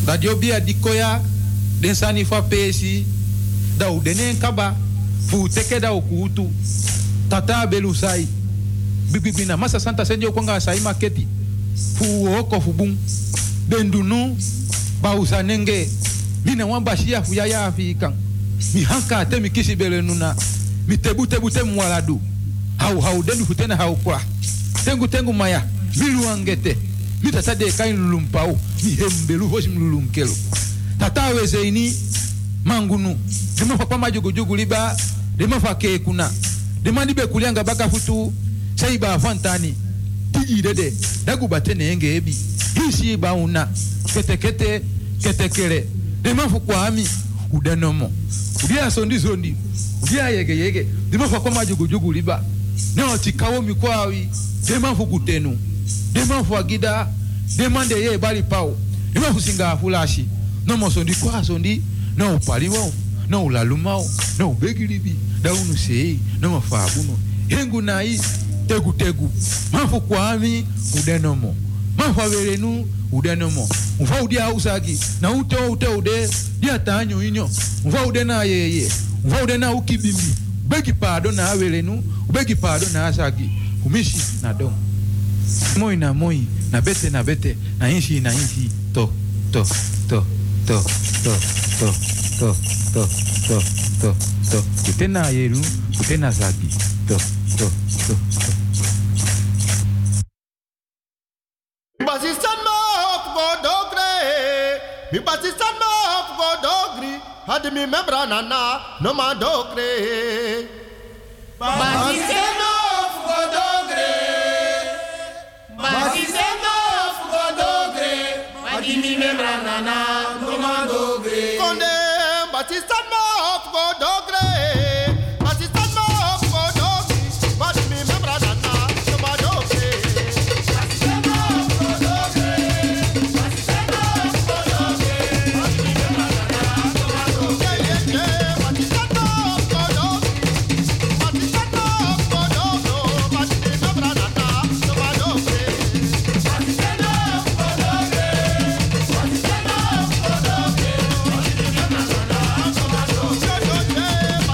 Dat je bia dikoya den sani fa pesi da u denen kaba fu teke da ukutu tata belusai bibibina masa santa senjo kwanga sai maketi fu oko fu bum bendunu ba usanenge mina wamba shia fu ya afrikan mi hanka te mi kisi belenuna mi tebu mwaladu hau denu futena hau kwa tengu maya milu angete mi tata de kain lulumpau mi hembelu hosi mlulunkelo tata wezeini mangunu dema fa kwa jugu liba dema fa ke kuna dema dibe kulianga baka futu saiba fantani tigi dede dagu batene enge ebi hisi ba una ketekere dema fu kwa ami udanomo udia sondi udia yege dema fa kwa jugu liba no tikawo mikwawi dema fu kutenu dema fu agida dema de ye bali pao dema fu singa fulashi no mo sondi no paliwo no lalumao no begiribi da unu sei no fabuno hengu nai tegu mafu kwami udenomo mafu averenu udenomo mfa udia usagi na ude dia tanyo inyo mfa ude na yeye mfa ude na ukibimbi begi pado na averenu begi pado na asagi kumishi na don moi na bete na inshi to kutena yeru kutena zagi to Basistan ma go dogre mi basistan ma go dogri had mi membra nana no ma dogre basistan ma go dogre basistan ma go dogre had mi membra nana no ma dogre konde basistan ma go dogre basistan ma go dogri had mi membra nana no ma dogre basistan ma go dogre basistan ma go dogre had mi membra nana no ma dogre basistan ma go dogri basistan ma go dogro had mi membra nana no ma dogre basistan ma go dogre basistan ma go dogre had mi membra nana no ma dogre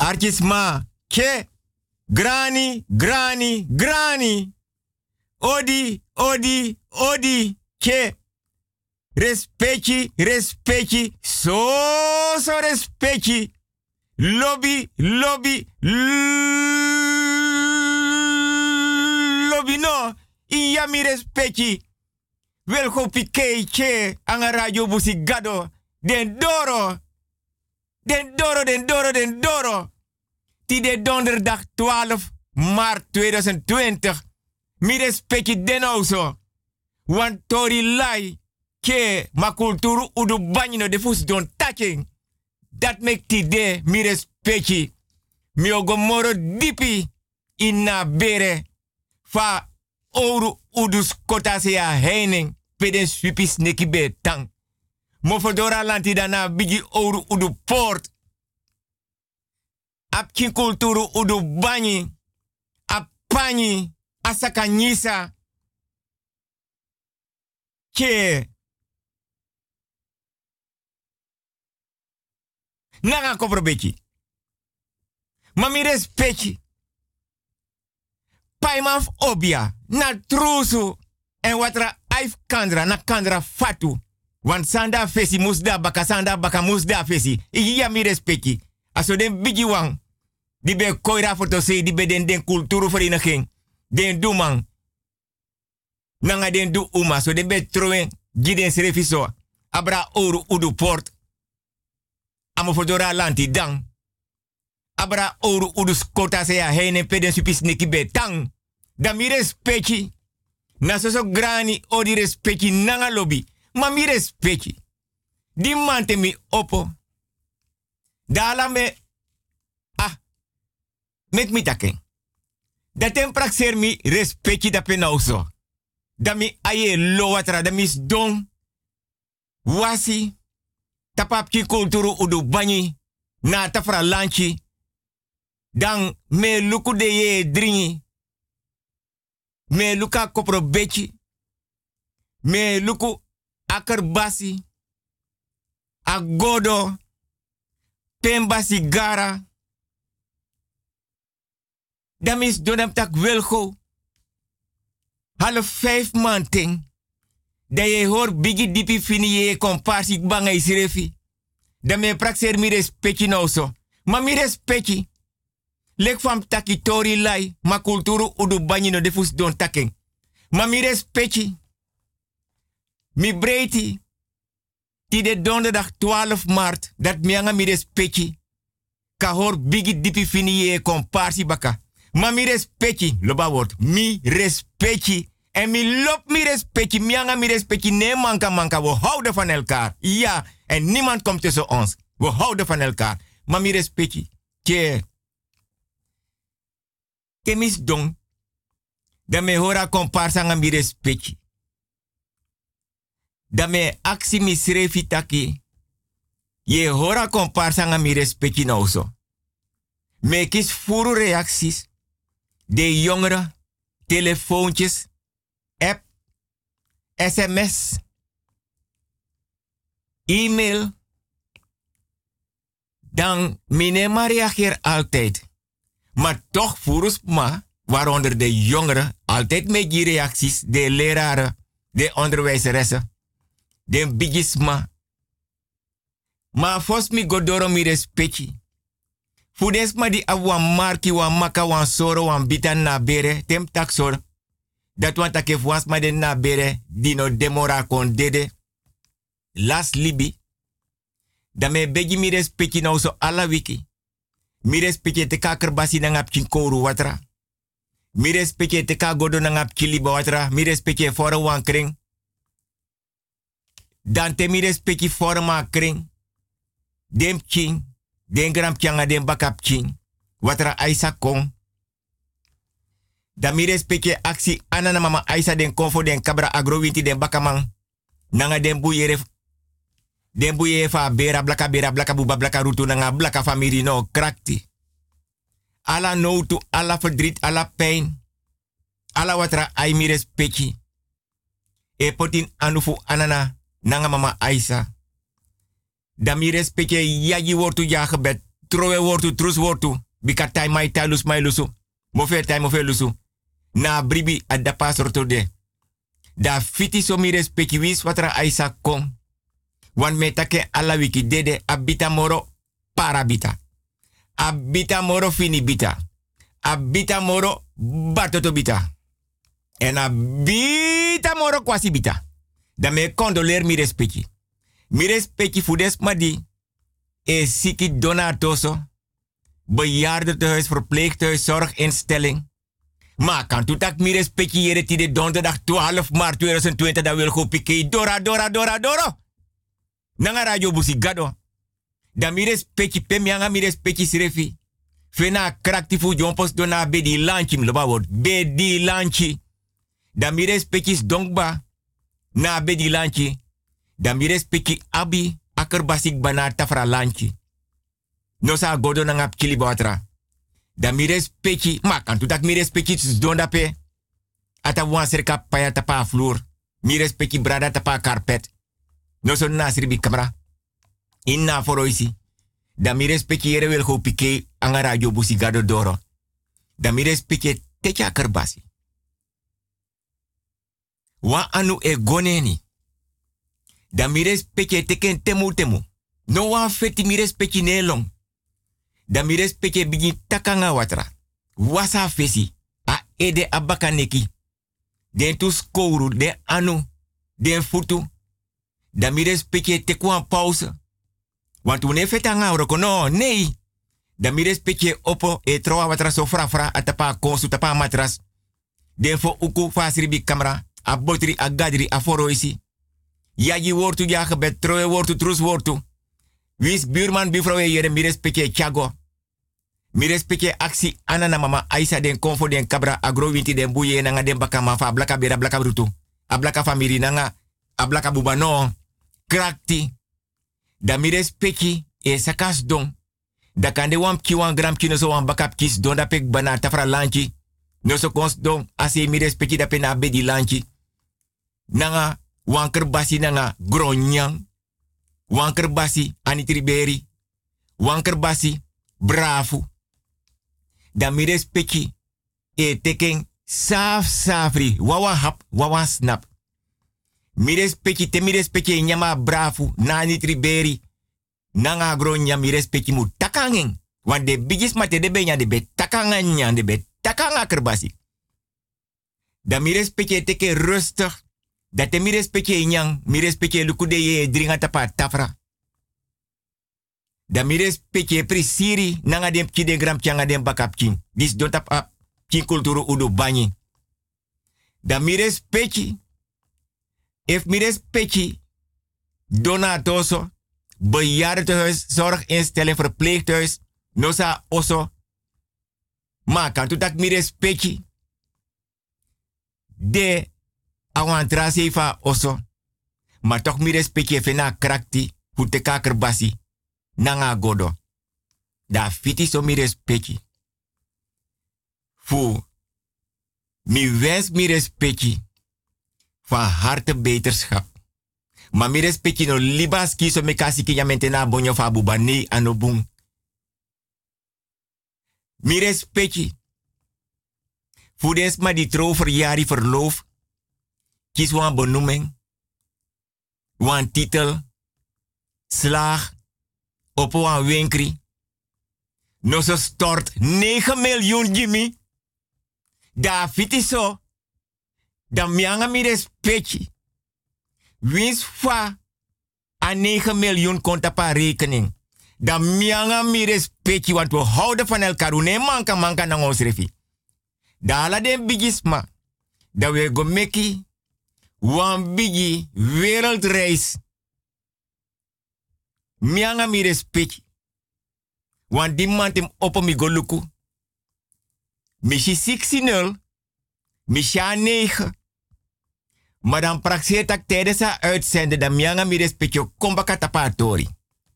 Artisma, ke, grani, grani, grani. Odi, odi, odi, ke. Respecti, respecti, so respecti. Lobby, lobby, lobby no. Iya mi respecti. Wel go pikei che anga radio busi gado. Den doro. Den doro, den doro, den doro. Ti de donderdag 12 maart 2020. Mi respecti den also. Want tori lai. Ke ma kulturu udu banyino de fus don taking. Dat make ti de mi respecti. Mi ogomoro dipi inna bere. Fa oru udus kota se ya heining. Peden swipis neki be tang. Mofodora lanti dana bigi oru udu port. Ap kin kulturu udu banyi. Ap panyi. Asaka nyisa. Ke. Nanga kopro Mami respecti. Paimaf obia. Na trusu. En watra aif kandra na kandra fatu. Want sanda fesi musda baka sanda baka musda fesi. Iya mi respecti. Aso den bigi wang. Di be koira foto se di be den kulturu vereniging. Den dumang. Nanga den du uma. So den be troen. Giden serefiso. Abra oru udu port. Amo fodora lanti dang. Abra oru udus kota se ya heine peden supis neki betang. Da mi respecti. Na so grani odi respecti nanga lobby. Ma mi respecti. Di mante mi opo. Dala me. Mek mi taken. Da tem praxer mi respecti da penauso. Da mi aye lo watra da mis don. Wasi. Tapapki kulturu udu banyi. Na tafra lanchi. Dan me luku de ye dringi. Me luka kopro bechi. Me luku akarbasi. Agodo. Pemba sigara. Damis donam tak welgo. 4:30 manting. Da je hoor bigi dipi fini ye komparsi banga isrefi. Da me praxer mi respecti nou so. Ma mi respecti. Lek fam taki tori lai. Ma kulturu udu banyi no defus don taking. Ma mi respecti. Mi breiti. Ti de donderdag 12 maart. Dat mianga mi respecti. Ka hoor bigi dipi fini ye komparsi baka. Ma mi respecti. Loba word. Mi respecti. En mi lop mi respecti. Mianga mi respecti. Nee manka. We houden van elkaar. Ja. En niemand komt tussen ons. We houden van elkaar. Ma mi respecti. Kemis dong. Da me hora komparsa nga mi respecti. Da me aksi mi srefi taki. Je hora komparsa nga mi respecti nou so. Me kis furu reacties. De jongeren. Telefoontjes. App. SMS. E-mail. Dan minema reageer altijd. Maar toch voerus ma, waaronder de jongeren, altijd met die reacties, de leraren, de onderwijzeressen, de bigisma. Maar fos mi godoro mi respecti. Fudes ma di awa marki wa maka wan soro wan bitan na bere, tem taksor. Dat wan take fuas ma den na bere, dino demora kon dede. Las libi. Da me begi mi respecti nou so ala wiki. Mi respecte te ka kerbasi na ngap koru watra. Mi respecte te ka godo na ngap liba watra. Mi respecte fora wan kring. Dan te mi respecte fora ma kring. Dem king. Den gram kyanga den bakap king. Watra aisa kong. Da mi respecte aksi anana mama aisa den konfo den kabra agrowinti den bakamang. Nanga den buyere. Den buye fa bera blaka buba blaka rutu nanga blaka famiri no krakti. Ala notu, ala verdriet, ala pijn. Ala watra ai mi respecti. E potin anufu anana nanga mama Aisa. Da mi respecti yagi wortu ja gebed. trowe wortu, trus wortu. Bika tai mai tai lus mai lusu. Mofe tai mofe lusu. Na bribi adapa sorto de. Da fiti so mi respecti wis watra aisa kom. Wan metake ala wiki dede abita moro parabita. Abita moro finibita. Abita moro batotobita. En abita moro kwasi bita. Da me condoleer mi respecti. Mi respecti fudes madi. E siki donatoso. Bejaardentehuis, verpleeghuis, zorginstelling. Maar kan toetak mi respecti jere tide donderdag 12 maart 2020 da wil go pike Dora. Nanga radio busigado. Da mi respecti pemianga mi respecti srefi. Fena kraktifu jompos dona bedi lanchi mloba word. Bedi lanchi. Da mi respecti donkba. Na bedi lanchi. Da mi respecti abi akerbasik bana tafra lanchi. No sa godo na ngap kili batra. Da mi respecti, ma kan tutak mi respecti donda pe. Ata wan serka paya tapa vloer. Mi respecti brada tapa carpet. No so nasribi kamera. Inna foroisi. Da mi respecti yere wel go pike anga radio busigado doro. Da mi respecti techa kerbasi. Wa anu e goneni. Da mi respecti teken temu. No wan feti mi respecti nelong. Da mi respecte bigi takanga watra. Wasa fesi. A ede abakaneki. Den tu skouru, den anu, den futu. Da mi respecte tekwan pauze. Want une fetanga oroko no, nee. Da mi respecte opo e troa watra so fra atapa konsu tapa matras. Den fo uku fasribi kamera. A botri a gadri a foroisi. Yagi wortu ya gebet troe wortu trus wortu. Wis buurman bifrouw jere mi respecte Thiago. Mi respecte aksi anana mama Aisa den konfo den kabra agrowinti den buye nanga den baka mafa ablaka bera ablaka brutu. Ablaka famiri nanga ablaka bubano. Krakti. Da mi respecte e sakas don. Da kande wam ki wan gram kino so wan bakap kis don da pek bana tafra lanchi. No so kons don ase mi respecte da pena bedi lanchi. Nanga wan kerbasi nanga gronyang. Wanker basi anitriberi. Wanker basi brafu. Da mi respecti e teken safri. Wawa hap, wawa snap. Mi respecti te mi respecti nyama brafu na anitriberi. Nanga gronya mi respecti mu takangen. Want de bigis mate de benya de be takangen de be takanga kerbasi. Da mi respecti teken rustig. Dat te mi respecte nyang, mi respecte lukude ye dringa tapa tafra. Da mi respecte prisiri nanga dem ki de gram kyanga dem bakap king. Dis don tap king kulturu udo banyi. Da mi respecte, if mi respecte donatoso, bejaardentehuis, zorginstelling, verpleeghuis, nosa oso. Maar kan tu tak mi respecte de awan trase fa oso. Maar toch mi respecte fena krakti hute kakerbasi nanga godo. Da fiti so mi respecte. Fu mi wens mi respecte van harte beterschap. Maar mi respecte no libaski so me kasi ki yamente na bonyo fa bubani anobung. Mi respecte. Fu des ma di trouw verjari verloof. Kies wan benoeming, wan titel, slaag, op wan winkri. No so stort 9 miljoen Jimmy. Da fiti so. Da mianga mi respecti. Wins fa a 9 miljoen konta pa rekening. Da mianga mi respecti, want we houden van elkaar. Ne manka na ons refi. Da ala den bigisma. Da we go meki. Wan bigi wereldreis. Mianga mi respecti. Wan di mantem opo mi goluku. Mishi 60, misha 9. Maar dan praxeert ik tijdens haar uitzenden dat mianga mi respecti kombaka tapatori.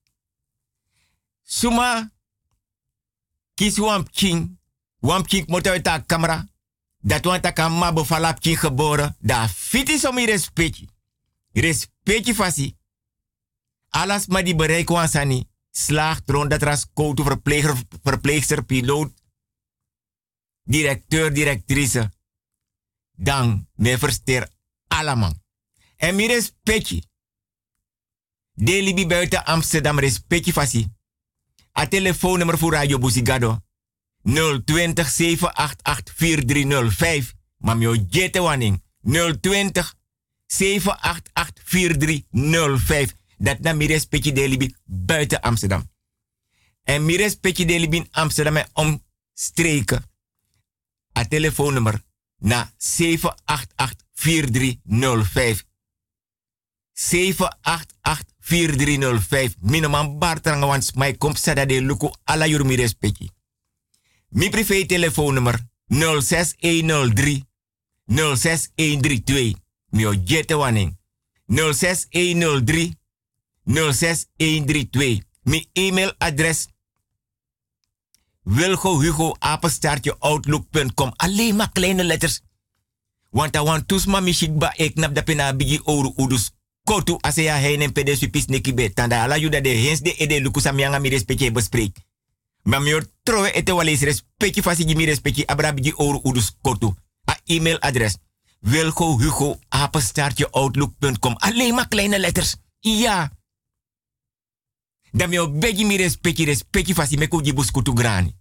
Suma kies wam king moet uit haar camera. Dat want ik aan ma bevalap king geboren. Da fiti so mi respecti. Respecti fasi. Alas ma di bereik wansani. slaagt rond dat ras koutu verpleegster, piloot, directeur, directrice. Dan me versteer allemaal. En mi respecti. Delibi buiten Amsterdam respecti fasi. A telefoonnummer voor Radio Busigado. 020 788 4305. Maar mio jete waning. 020 788 4305. Dat na mi respecti delibi buiten Amsterdam. En mi respecti delibi in Amsterdam en omstreken. A telefoonnummer na 788 4305. 788 4305. Minoman Bartranga wans mij komt sada de luku ala yur mi respecti. Mi privé telefoonnummer 06103 06132. Mio jette waning. 06103 06132. Mi e-mailadres wilgohugo@outlook.com. Alleen maar kleine letters. Want I want tusma mishikba eknap da pena bigi oru udus kotu asea heinen pede supis nekibe. Tanda ala yuda de hens de ede lukusa mianga mi respecte bespreek. Maar mi trowe ete wales respecte fasi mi respecte abra bigi oru udus kotu. A e-mailadres wilgohugo@outlook.com. Alleen maar kleine letters. Ja. Dan mi begi mi respecte fasi me ko jibus kutu grani.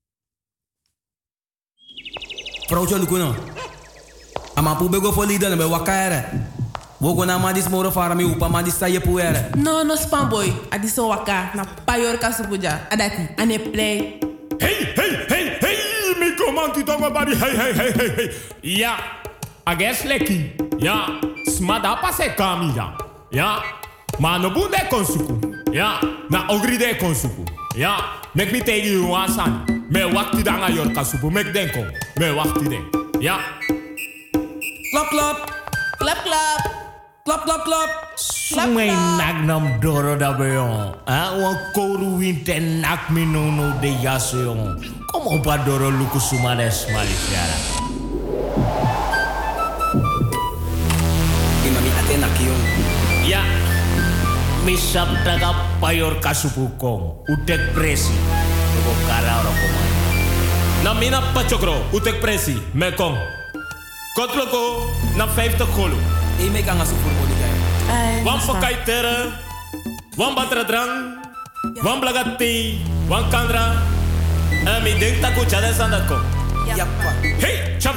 Procho lukuno. Ama pu bego fo lida be wakaere. Wogo na madis moro fara mi upa madis saye puere. No spamboy. Adiso waka na payor kasupuja. Adati ane play. Hey, mi comanti tongo bari. Hey. Ja, ages leki. Ja, smada pase kamia. Ja, ma no bunde konsuku. Ja, na ogri de konsuku. Ja, mek mi tegi you asan. Me wakti danga yor kasupu mek denko. Me wakti den. Ja. Klap. Klap. Sumay nagnam doro da beyon. Wan koru winte nak mi no de yaseyon. Kom op a doro luku sumades malifiara. Imami atena kiyon. Ja. Mi sabdaga payor kasupu kong. Utek presi. Lugo kara oro komay. Na mina pachokro. Utek presi. Me kong. Kotloko na 50 golo. E me kan asu voor body guy. Wan pakai tere. Wan batra drang. Wan blagati. Wan kandra. En mi denk taku chade sandako. Yappa. Hey, chap.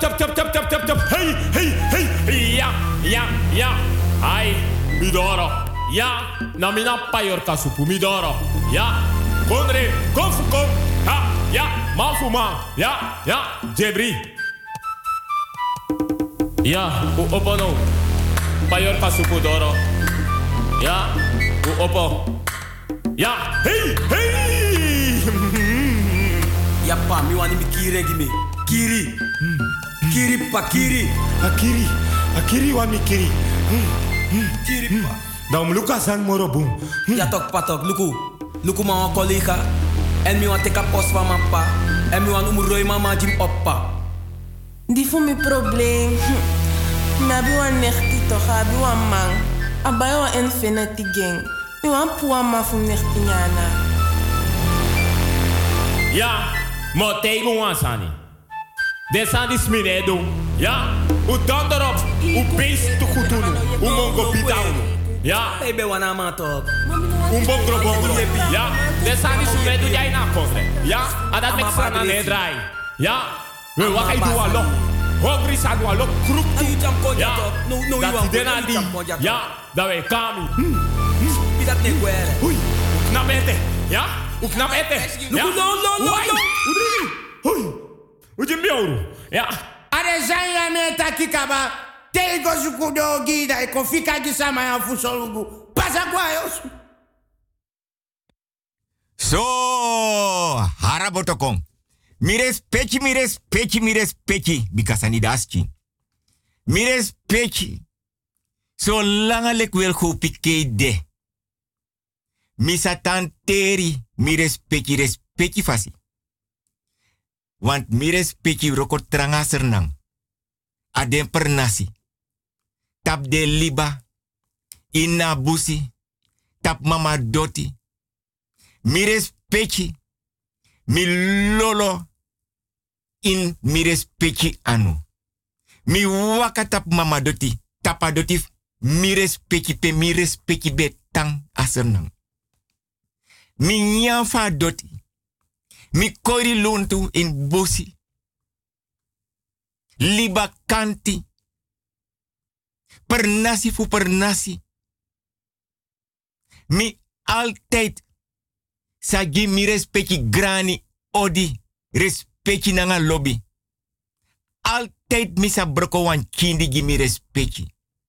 Hey. Ja. Ai, midoro. Ja, na mina payor kasupu midoro. Ja. Kondre, konfukom. Ha, ja, mafuma. Ja, Jebri. Ja, u opono. Payor kasupu doro. Ja, u opo. Ja, hey. Yappa, mi wani mi kiri gime. Kiri. Kiri pa kiri. Akiri wa mi kiri. Kiri pa. Dan luka san moro boom. Ja tok patok, luku ma collega. En mi wan teka post van mijn pa. En mi wan umroi mama jim oppa. Die voor mijn probleem. Nabi wan nechti toch, abi wan man. Abai wan infinity gang. Mi wan puwa ma fu nechti nyana. Ja, mo tegen wan sani. Desa di sminedo. Ja, u donderop. U beest te goed doen. U mongo pitauno. Ja. Hey, be wana ma tok. Bongro. Ja, desa di sminedo jij na kofre. Ja, adat mek sana ne draai. Ja, we wakai du alo. Hongri sa du alo kruk tu. Ja, dat die denali. Ja, dat we kami. Bidat ne guere. Ui, knap ete. Ja, u knap ete. Ja, no. Ui, uje mioru. Ja. Are zanya meta kikaba tego sukudo gida e kofika gisama ya fusolugu pasa kwa yos. So, harabotokong. Mi respecti. Bikasani daski. Mi respecti. So langa lek wel go pike de. Mi satan teri. Mi respecti fasi. Want mi respecti roko tranga sernang. Adem pernasi. Tap de liba. Ina busi. Tap mama doti. Mi respecti. Mi lolo in mi respecti anu. Mi wakatap mama doti. Tapa doti mi respecti be tang asernang. Mi nyanfa doti. Mi kori lontu in bosi. Liba kanti. Per nasi fu per nasi. Mi altijd sagi mi respecti grani odi. Respecti nanga lobby. Altijd misa broko wan kindi gi mi respecti.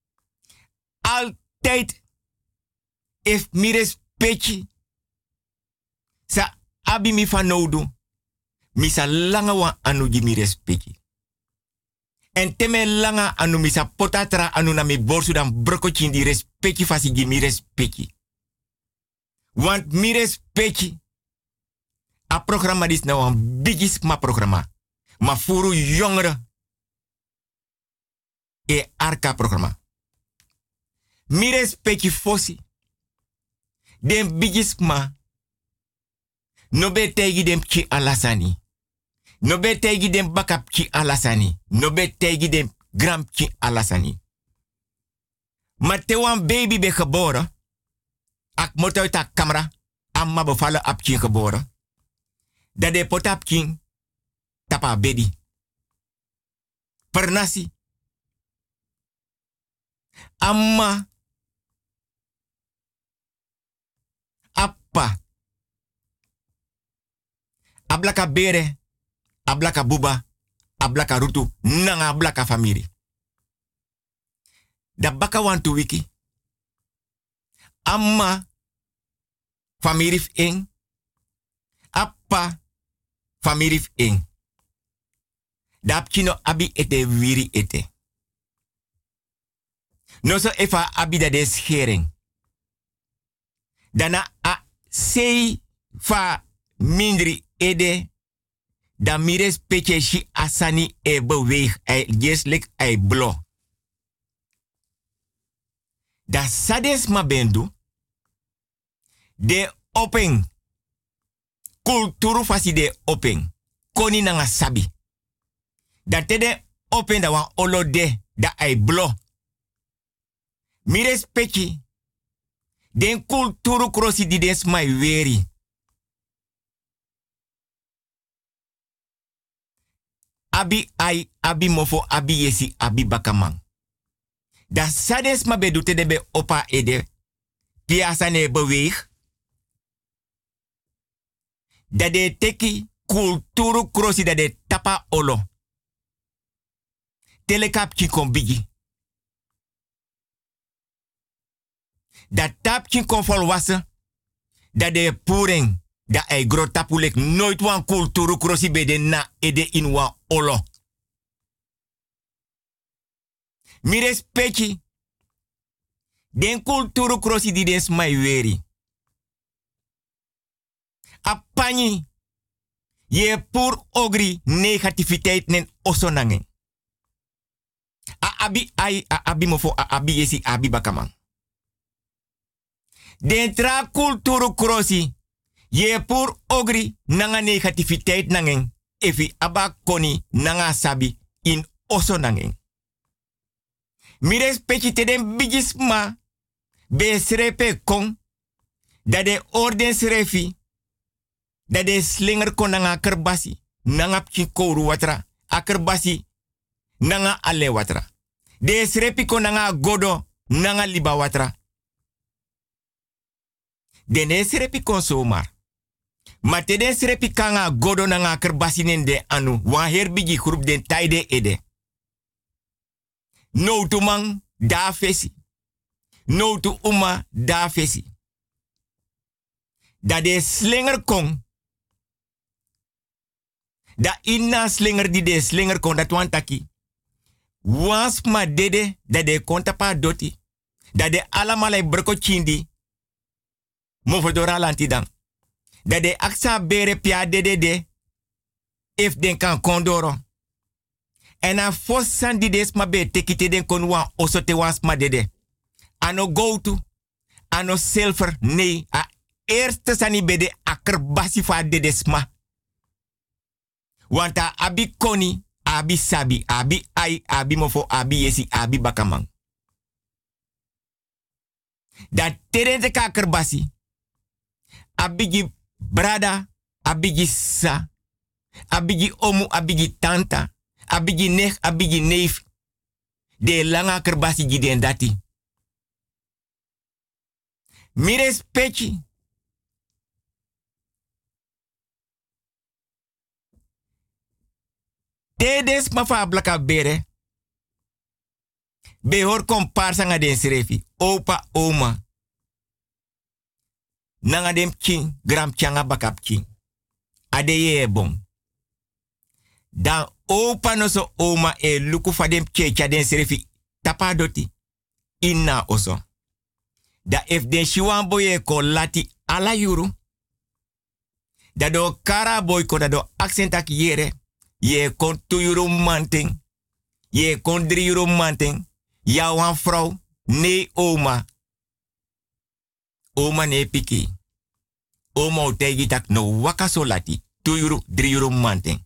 Altijd if mi respecti. Sa abi mi fanodu. Misa langa wan anu gi mi respecti. En teme langa anu misa potatra anu na mi borsu dan broko kindi respecti fasi gi mi respecti. Want mi respecti. A programma dis nou een bigis ma programma. Ma furu jongeren. E arka programma. Mi respecti fosi. Den bigis ma. No be tegi dem ki alasani. No be tegi dem bakap ki alasani. No be tegi dem gram ki alasani. Maar te wan baby be geboren. Ak moet uit de camera. Amma bevallen op kin geboren. Dat de potap king. Tapa bedi. Pernasi. Amma. Appa. Ablaka bere. Ablaka buba. Ablaka rutu. Nanga ablaka famiri. Da baka wantu wiki. Amma. Famiri ing. Appa. Famiri ing. Dap kino abi ete wiri ete. No so efa abi da de schering. Dana a sei fa mindri ede. Da mires petje shi asani e beweeg. Jeslik ai blo. Da sades ma bendu. De open. Kulturu fasi de open. Koni nanga sabi. Da tede open da wan olo de. Da ai blo. Mi respecti. Den kulturu krosi di des mai weri. Abi ai, abi mofo, abi yesi, abi bakamang. Da sades ma bedu tede be opa ede. Piasane beweeg. Da de teki kulturu krosi da de tapa olo. Telekap ki kon bigi. Da tap ki kon volwassen. Da de puring. Da ei gro tapulek nooit wan kulturu krosi bede na ede in wan olo. Mi respecti. Den kulturu krosi di den smai weri. Apani. Je pur ogri negativiteit nen osonangen. A abi ai, a abi mofo, a abi yesi, abi bakamang. Den tra kulturu krosi. Je pur ogri nanga negativiteit nangen. Efi aba koni nanga sabi in osonangen. Mi respecti te den bigisma. Be srepe kong. Da de orden srefi. Da de slinger kon nanga kerbasi. Nanga pki kouru watra. A kerbasi. Nanga ale watra. De srepi kon nanga godo. Nanga liba watra. De ne srepi kon somar. Ma te den srepi kanga godo nanga kerbasi nende anu. Wan herbigi groep den taide ede. No tu man da fesi. No tu uma da fesi. Da de slinger kong. Da inna slinger di de slinger kong dat wan taki. Wans ma dede da de konta pa doti. Da de alamalai broko chindi. Movodora lantidang. Da de aksa bere pia de. If den kan kondoro. En a fossan di des ma be tekite den kon wan osote wans ma dede. Ano go to. Ano silver. Nee. eerste sani bede akkerbasi fa de desma. Want abi koni, abi sabi, abi ai, abi mofo, abi yesi, abi bakamang. Dat terente ka akkerbasi. Abigi brada, abigi sa, abigi omu, abigi tanta, abigi nech, abigi neef. De langa kerbasi giden dati. Mires pechi. Tedes mafa blaka bere. Behor komparsa nga den srefi. Opa, oma. Nanga dem king, gram changa bakap king. Adeye bon. Dan opa no so oma e luku fa dem checha den srefi. Tapa doti. Inna oso. Da if den shiwan boye ko lati ala yuru. Da do kara boy ko da do accentak yere. Je kon 2 euro manting. Je kon 3 euro manting. Ja wan vrouw. Nee oma. Oma nee piki. Oma o tegi tak no waka so lati. 2 euro, 3 euro manting.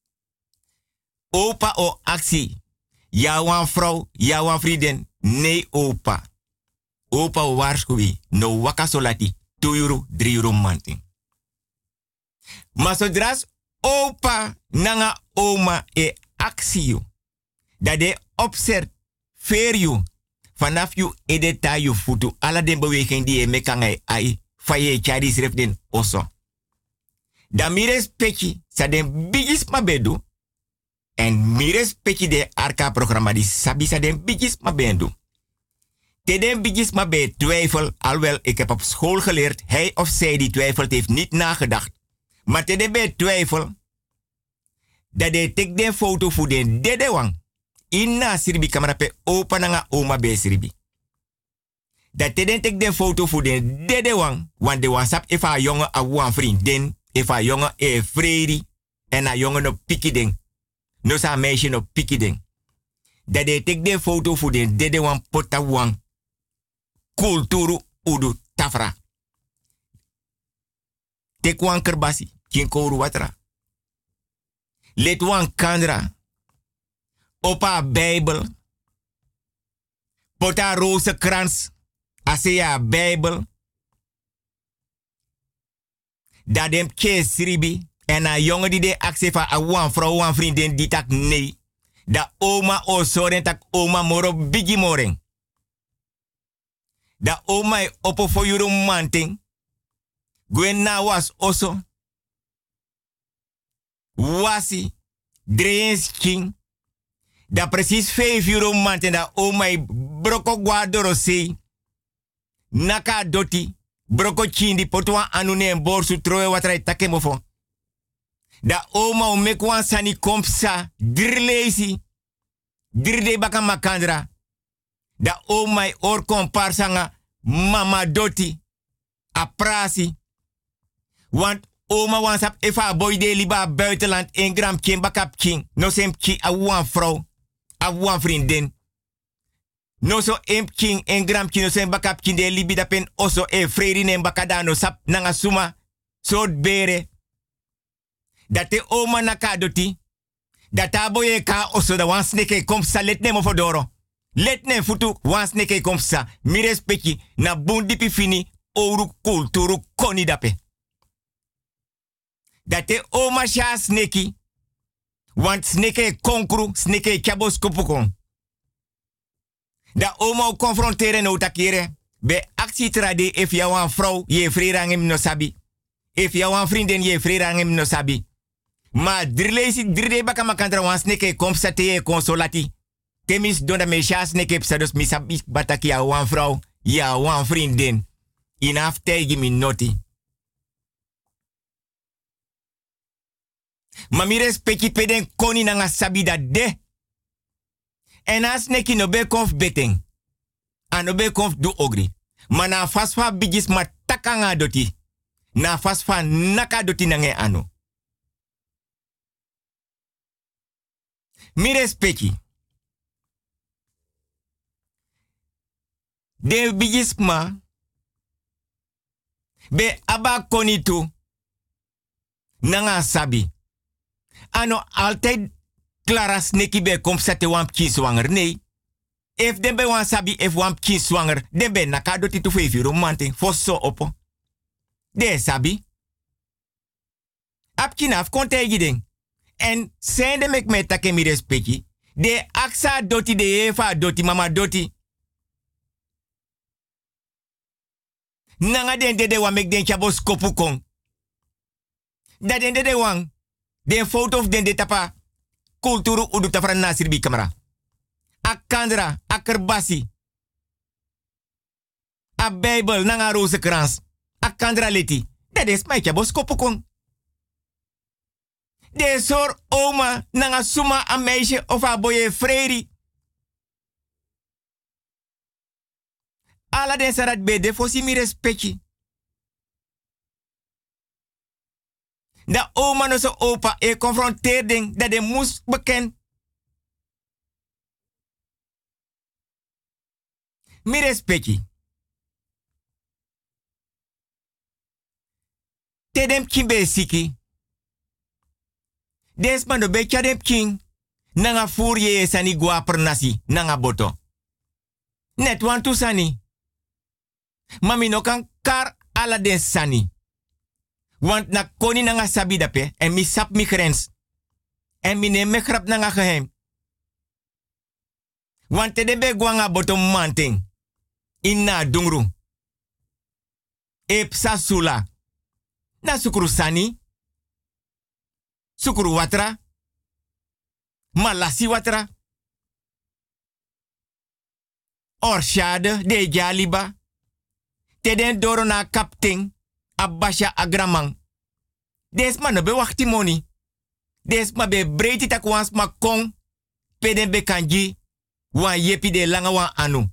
Opa o actie. Ja wan vrouw. Ja wan vrienden. Nee opa. Opa o waarschuwi. No waka so lati. 2 euro, 3 euro manting. Maar zodra opa nanga oma e actie. Dat de observeer you. Vanaf you edeta you futu. Alla den beweging die je mekangai ai. Faye chadi sref den oso. Da mires pechi. Sa den bigis mabedu. En mires pechi de arka programma die sabi sa den bigis mabendu. Te den bigis mabe twijfel. Alhoewel ik heb op school geleerd. Hij of zij die twijfelt heeft niet nagedacht. Maar te den be twijfel. Dat de tek den foto voor den dede wang. Inna siribi kamera pe opa nanga oma be siribi. Dat te den tek den foto voor den dede wang. Want de WhatsApp if a jongen a wan vriendin. If a jongen e vredi. En a jongen op piki ding. No sa meisje op piki ding. Dat de tek den foto voor den dede wang pota wang. Kulturu udu tafra. Tek wan kerbasi. Kinkoru watra. Let wan kandra. Opa Bijbel. Pota rozenkrans. Asea Bijbel. Dat dem sribi. En a jongen die de actie van a wan vrouw, wan vriendin die tak nee. Da oma o soren tak oma moro bigi moreng. Da oma e opo for yuru manting. Gwen na was oso. Wasi. Dreens king. Da precies 5 euro maand en da omai broko guardoro sei. Naka doti. Broko chindi potwa anune en borsu troe watrai takemofo. Da oma o mekwan sani kompsa. Dirlezi. Dirde baka makandra. Da omai or komparsanga mama doti. Aprasi. Want oma wansap efa boy de liba buitenland in gram king bakap king. No sem ki a wan vrouw. A wan vriendin. No so imp king en gram king no sem bakap king de libi da pen oso e freri nem bakada no sap nanga suma. Soort bere. Dat te oma nakadoti. Dat aboye ka oso da wan sneke komsa let nemo fodoro. Let nem futu wan sneke komsa. Mi respecti na bundipi fini oru kulturu koni dape. Dat de oma sha sneki. Want sneke konkru, sneke chabos kupukon. Da oma confronteren no takire. Be actie trade if jou een vrouw je vrerangem no sabi. If jou een vriendin je vrerangem no sabi. Maar drie baka makantra wan sneke komsate je consolati. Temis donda me sha sneke psados misabi bataki ya wan vrouw, ya wan vriendin. Inaf tegi mi noti. Mami respecti peden koni nanga sabida de. En as neki no be konf beteng. Ano be konf du ogri. Ma na fasfa bigis ma takanga doti. Na fasfa naka doti nange ano. Mi respecti. De bigis ma. Be aba konitu. Nanga sabi. Ano altijd klaras neki be kom sete wamp kin zwanger. Nee. If den be wan sabi if wamp kin zwanger. Den be nakado titu fevi romanting. Fosso opo. De sabi. Ap kinaf konte giding. En zijn de mek met take mi respecti. De aksa doti de eva doti mama doti. Nanga den de wan mek den chabo skopu kong. Dat den de wan. Den foto of den de tapa. Kulturu udu tafran nasir bi kamera. Akandra, akerbasi. A Bijbel nanga rozenkrans. Akandra leti. Dat is mijn chabo skopu kong. De sor oma nanga suma a meisje of a boye freri. Ala den sarat bede fosi mi respecti. Da oma no so opa e confrontering dat de moest beken. Mi respecti. Tedem kimbe siki. Desman do becha dem king. Nanga furye sani gua pernasi. Nanga boto. Net wan tu sani. Mami no kan kar ala den sani. Want na koni nanga sabi dape. En mi sap mi grens. En mi neem me grap nanga geheim. Want te de be guanga boto manting. Inna dungru. Ep sasula. Na sukuru sani. Sukuru watra. Malasi watra. Orshade de jaliba. Teden doro na kapting. Abasha agramang. Des man be wachti moni. Des ma be breiti tak wans ma kong. Peden be kanji. Wan yepi de langa wan anu.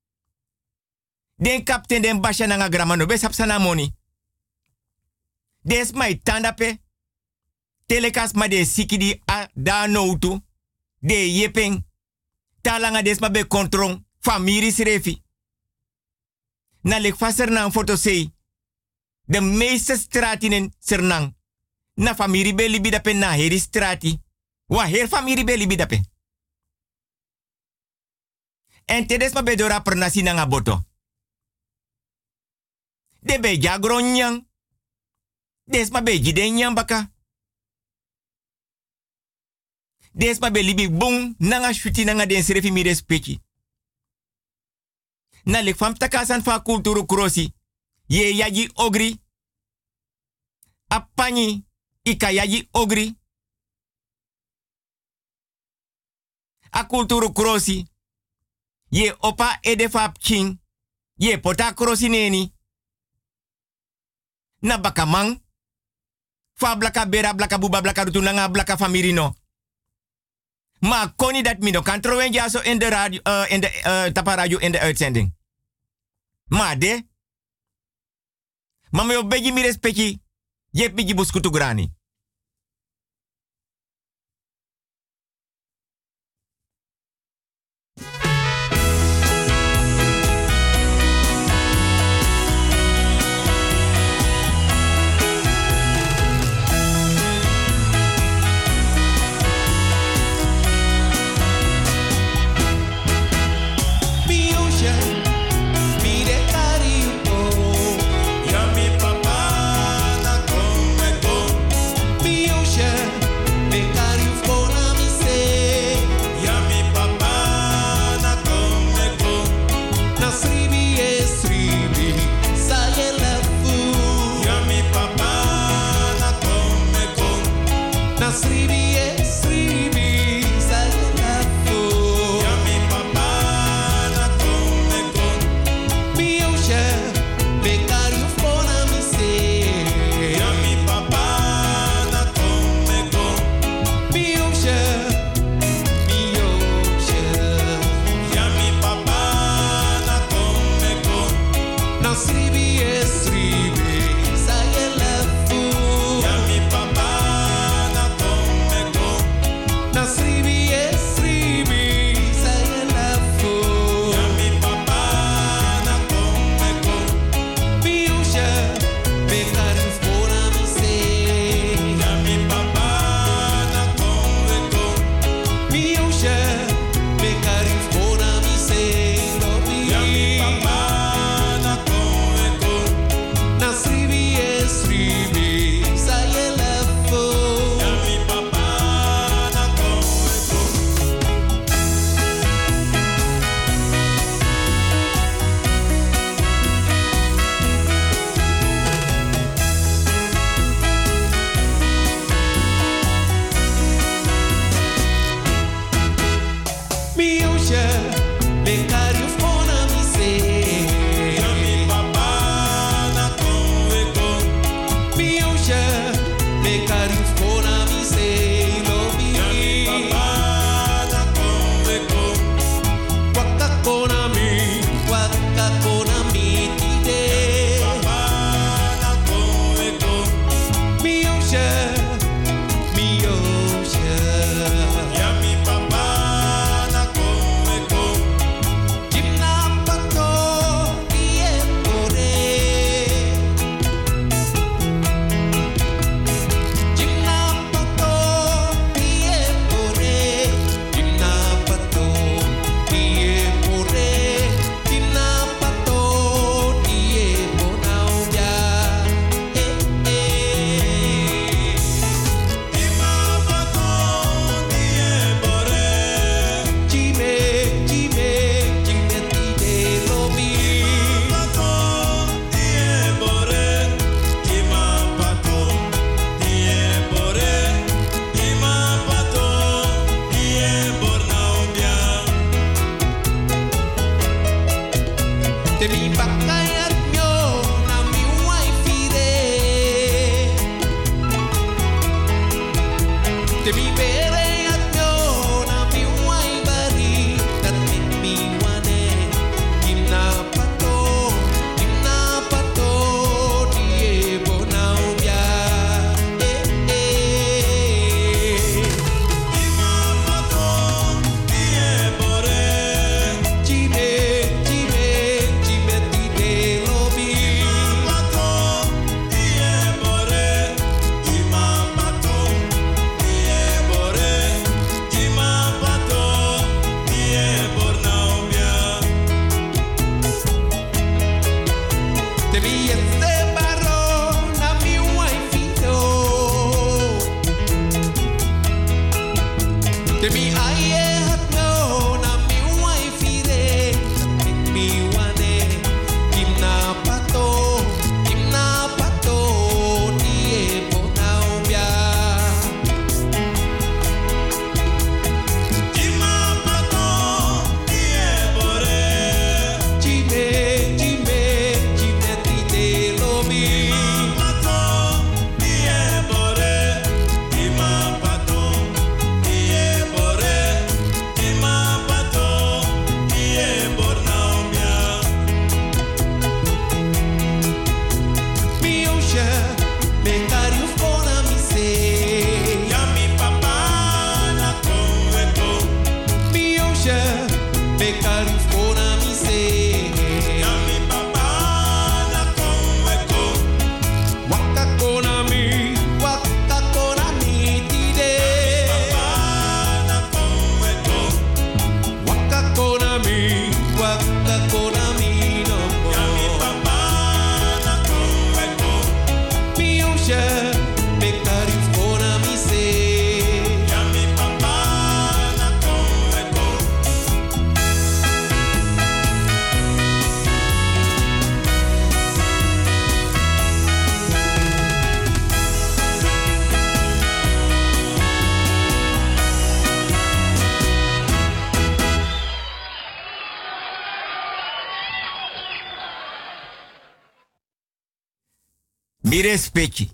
Den kapten den basha nanga gramano be sapsana moni. Des ma itandape. Telekas ma de sikidi a da noutu. De yepeng. Talanga des ma be kontrong. Famiri srefi. Na lek faser na een foto sei. De meeste stratinen sernang. Na famiri be libi dape na heri strati. Wa her famiri be libi dape. En tedes ma be dora pernasi nanga boto. De be jagro nyang. Des ma be jide nyang baka. Des ma be libi bung nanga shuti nanga den serefi mi respecti. Na lek fam takasan fa kulturu krosi. Ye yaji ogri. Apani ika yaji ogri. A kulturu krosi. Ye opa edefap king. Ye pota krosi neni. Na bakamang. Fa blaka bera blaka buba blaka rutu nanga blaka famirino. Ma koni dat mino kan trowen ja zo in de radio, in de tapa radio in de uitzending. Ma de. Mama yo beji mi respecti. Je biji buskutu grani. Mi respecti.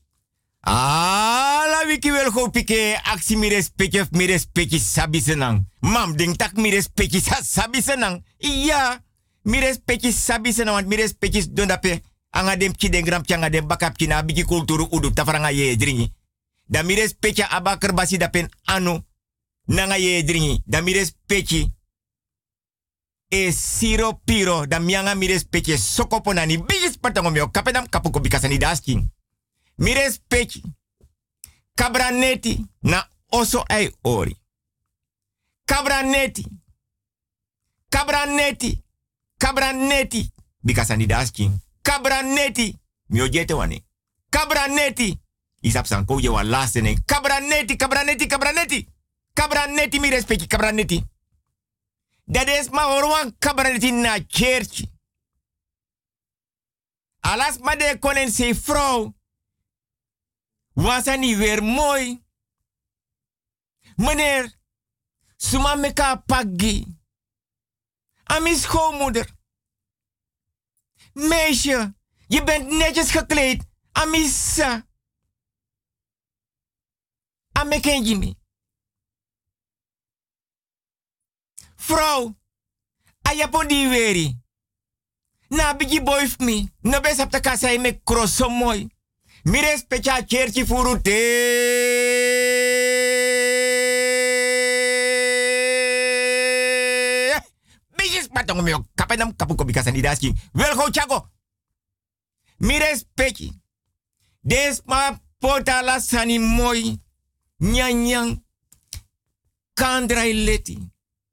La wiki wel go pike aksi mi respecti of mi respecti sabi senang. Mam ding tak mi respecti sabi senang. Iya, mi respecti sabi senang want mi respecti don dape anga dem ki den gram anga dem bakap ki na bigi kulturu udu tafaranga ye dringi. Da mi respecti abakar basi dapen anu nanga ye dringi. Da mi respecti e siro piro da mianga mi respecti sokopo nani bigis patango mio kapedam kapuko bikasani dasking. Mi respecti kabraneti na oso ai ori. Kabraneti bikasani dasking. Kabraneti mio jete wane. Kabraneti isap sanko je wan laste ne. Kabraneti mi respecti kabraneti. Dat is maar orwan kabraneti na church. Alas maar de konen se vrouw. Was hij niet weer mooi? Meneer, suma meka paggi. Ami schoonmoeder. Meisje, je bent netjes gekleed. Amisa. Ameken Jimmy. Vrouw, ayapo di weri. Na bigi boy me. No bes op de kassa me crosso mooi. Mi respecta cherchi furute. Bigis patong mio kapenam kapuko bikasa ni daski. Wel go chago. Mi respecti. Des ma pota la sani mooi. Nyanyang. Kandrai leti.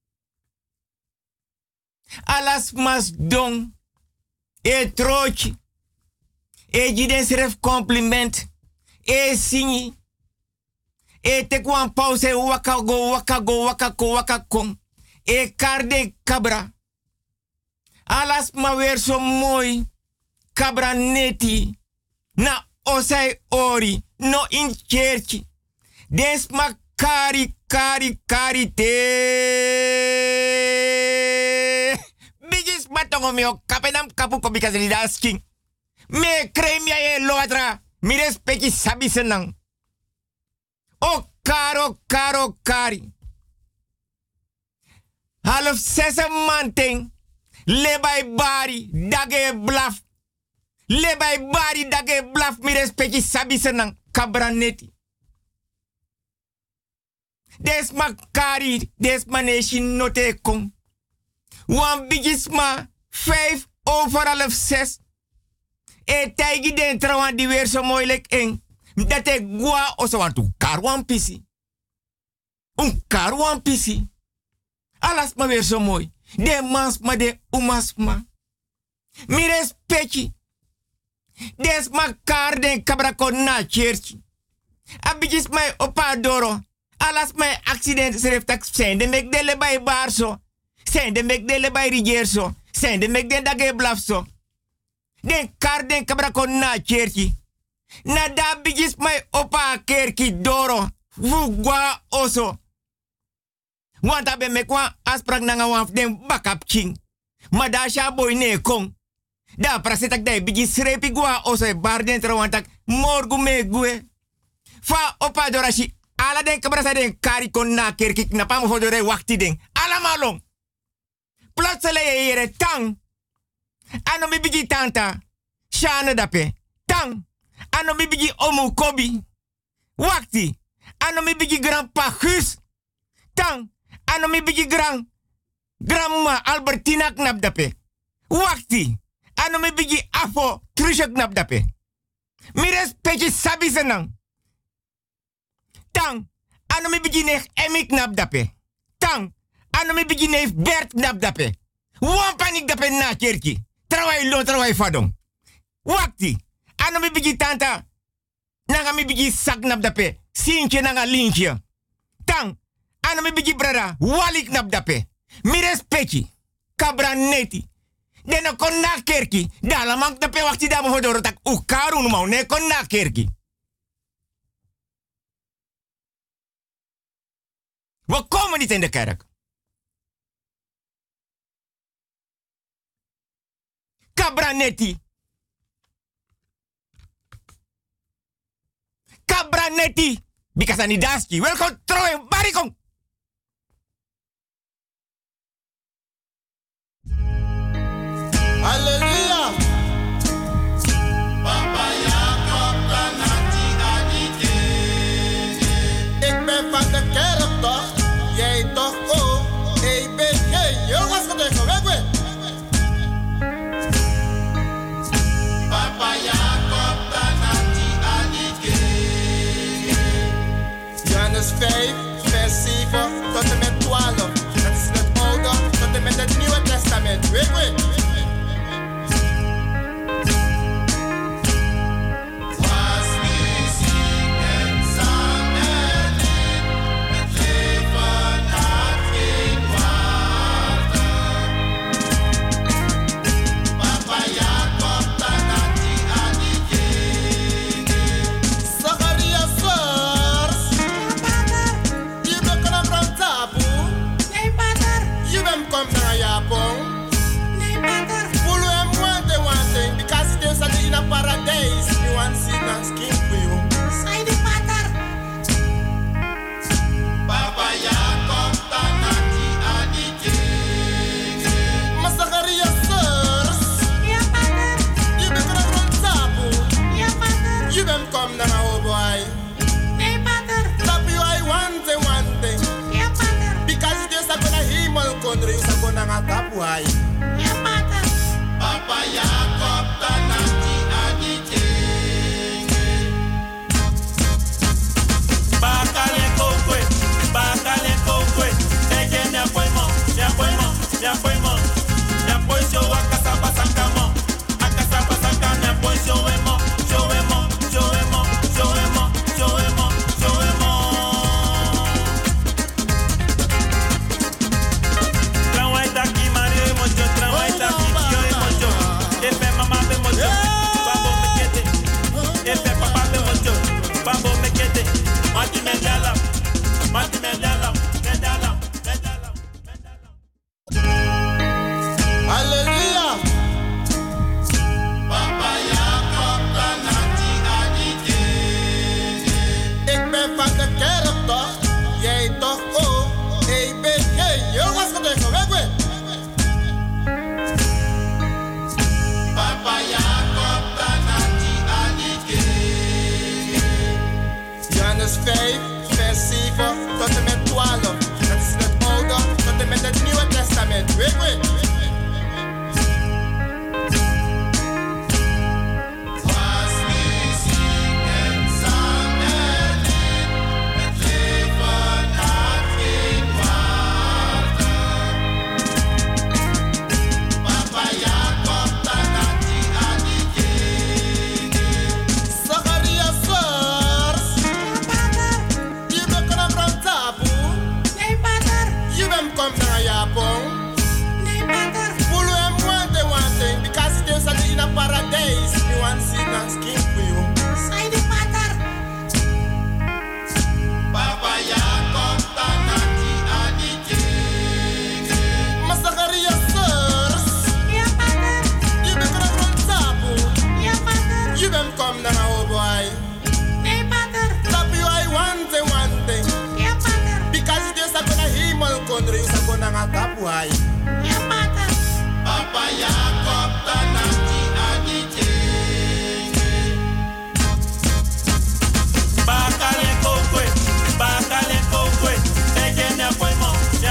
Alas mas don. E trochi. E jiden seref compliment. E singi. E tekwan pause waka kon. E karde kabra. Alas ma weer so mooi. Kabra neti. Na osai ori. No in church. Des ma kari te. Bigis batongo mio kapenam kapuko because it asking. Me kremia e loadra. Mi respecti sabi senang. O kari. Half 6 manting. Lebay bari dage blaf. Lebay bari dage blaf. Mi respecti sabi senang. Kabraneti. Des makari. Des maneshi note kong. Wan bigisma 5/6. E taigi den trawan di weer so moeilijk eng. Dat ik gua oso want u karwan pisi. Karwan pisi. Alas ma weer so mooi. De mans ma de umas ma. Mi respecti. Des makar den kabrakon na church. Abigis mai opa doro. Alas mai accident schrijft dat zijn de mek dele bij barso. Zijn de mek dele bij rigerso. Zijn de mek den dage blafso. Den kar den kabra kon na kerki. Na da bigis mai opa kerki doro. Fugwa oso. Want abe mekwa asprak nanga waf den bakap king. Ma da sha boy ne kong. Da prasetak dai bigis srepi gwa oso e bar den trawantak morgu me gue. Fa opa dorashi. Ala den kabra den kari kon na kerki na pamu fodore wakti den. Ala malong. Plotsele yere tang. Ano mi bigi tanta. Shana dape. Tang. Ano mi bigi omu kobi. Wakti. Ano mi bigi grandpa Gus. Tang. Ano mi bigi grandma Albertina knap dape. Wakti. Ano mi bigi afo Trisha knap dape. Mi respecti sabi senang. Tang. Ano mi bigi nech Emi knap dape. Tang. Ano mi bigi nech Bert knap dape. Wan panik dape na kerki. Trawai lo trawai fadong. Wakti. Ano mi bigi tanta. Nanga mi bigi sak knap dape. Sintje nanga lintje. Tang. Ano mi bigi brada. Walik knap dape. Mi respecti. Kabra neti. Deno kon na kerki. Dala mank dape wakti da mohodoro tak ukaru numau. Ne kon na kerki. We komen niet in de kerk. Cabranetti. Cabranetti. Bikasani daski. Welkom trouwen. Barikong. Halleluja. Papa Jacob Tanati Adike. Ik ben van de kerk toch? Jij toch ook? Ik ben geen jongens gedegen. Weg. Papa Jacob Tanati Adike. Johannes 5, vers 7 tot en met 12. Dat is het Oude tot en met het Nieuwe Testament. Weg. Kom naar Japon. Nee, pater. Pulu en mwante wante. Because there's a in a paradise. You want to see that skin for you. Say the pater. Papa Jacob Tanati Adike. Masakaria sirs. Ja, pater. Je bent een grond tapu. Ja, pater. Je bent kom naar een boy. Nee, pater. Tapu I wante. Ja, pater. Because there's a gonna himel kondre. Tapuai. Ja, pater. Papa Jacob Tanati Adike. Bakale kokwe. Ege ne poimo. Ne poisho akasaba sankamo. Akasaba sanka ne poisho emo. Yo makapuai. Papa Jacob tanaki agite. Bakale kokwe, ege me apoimo,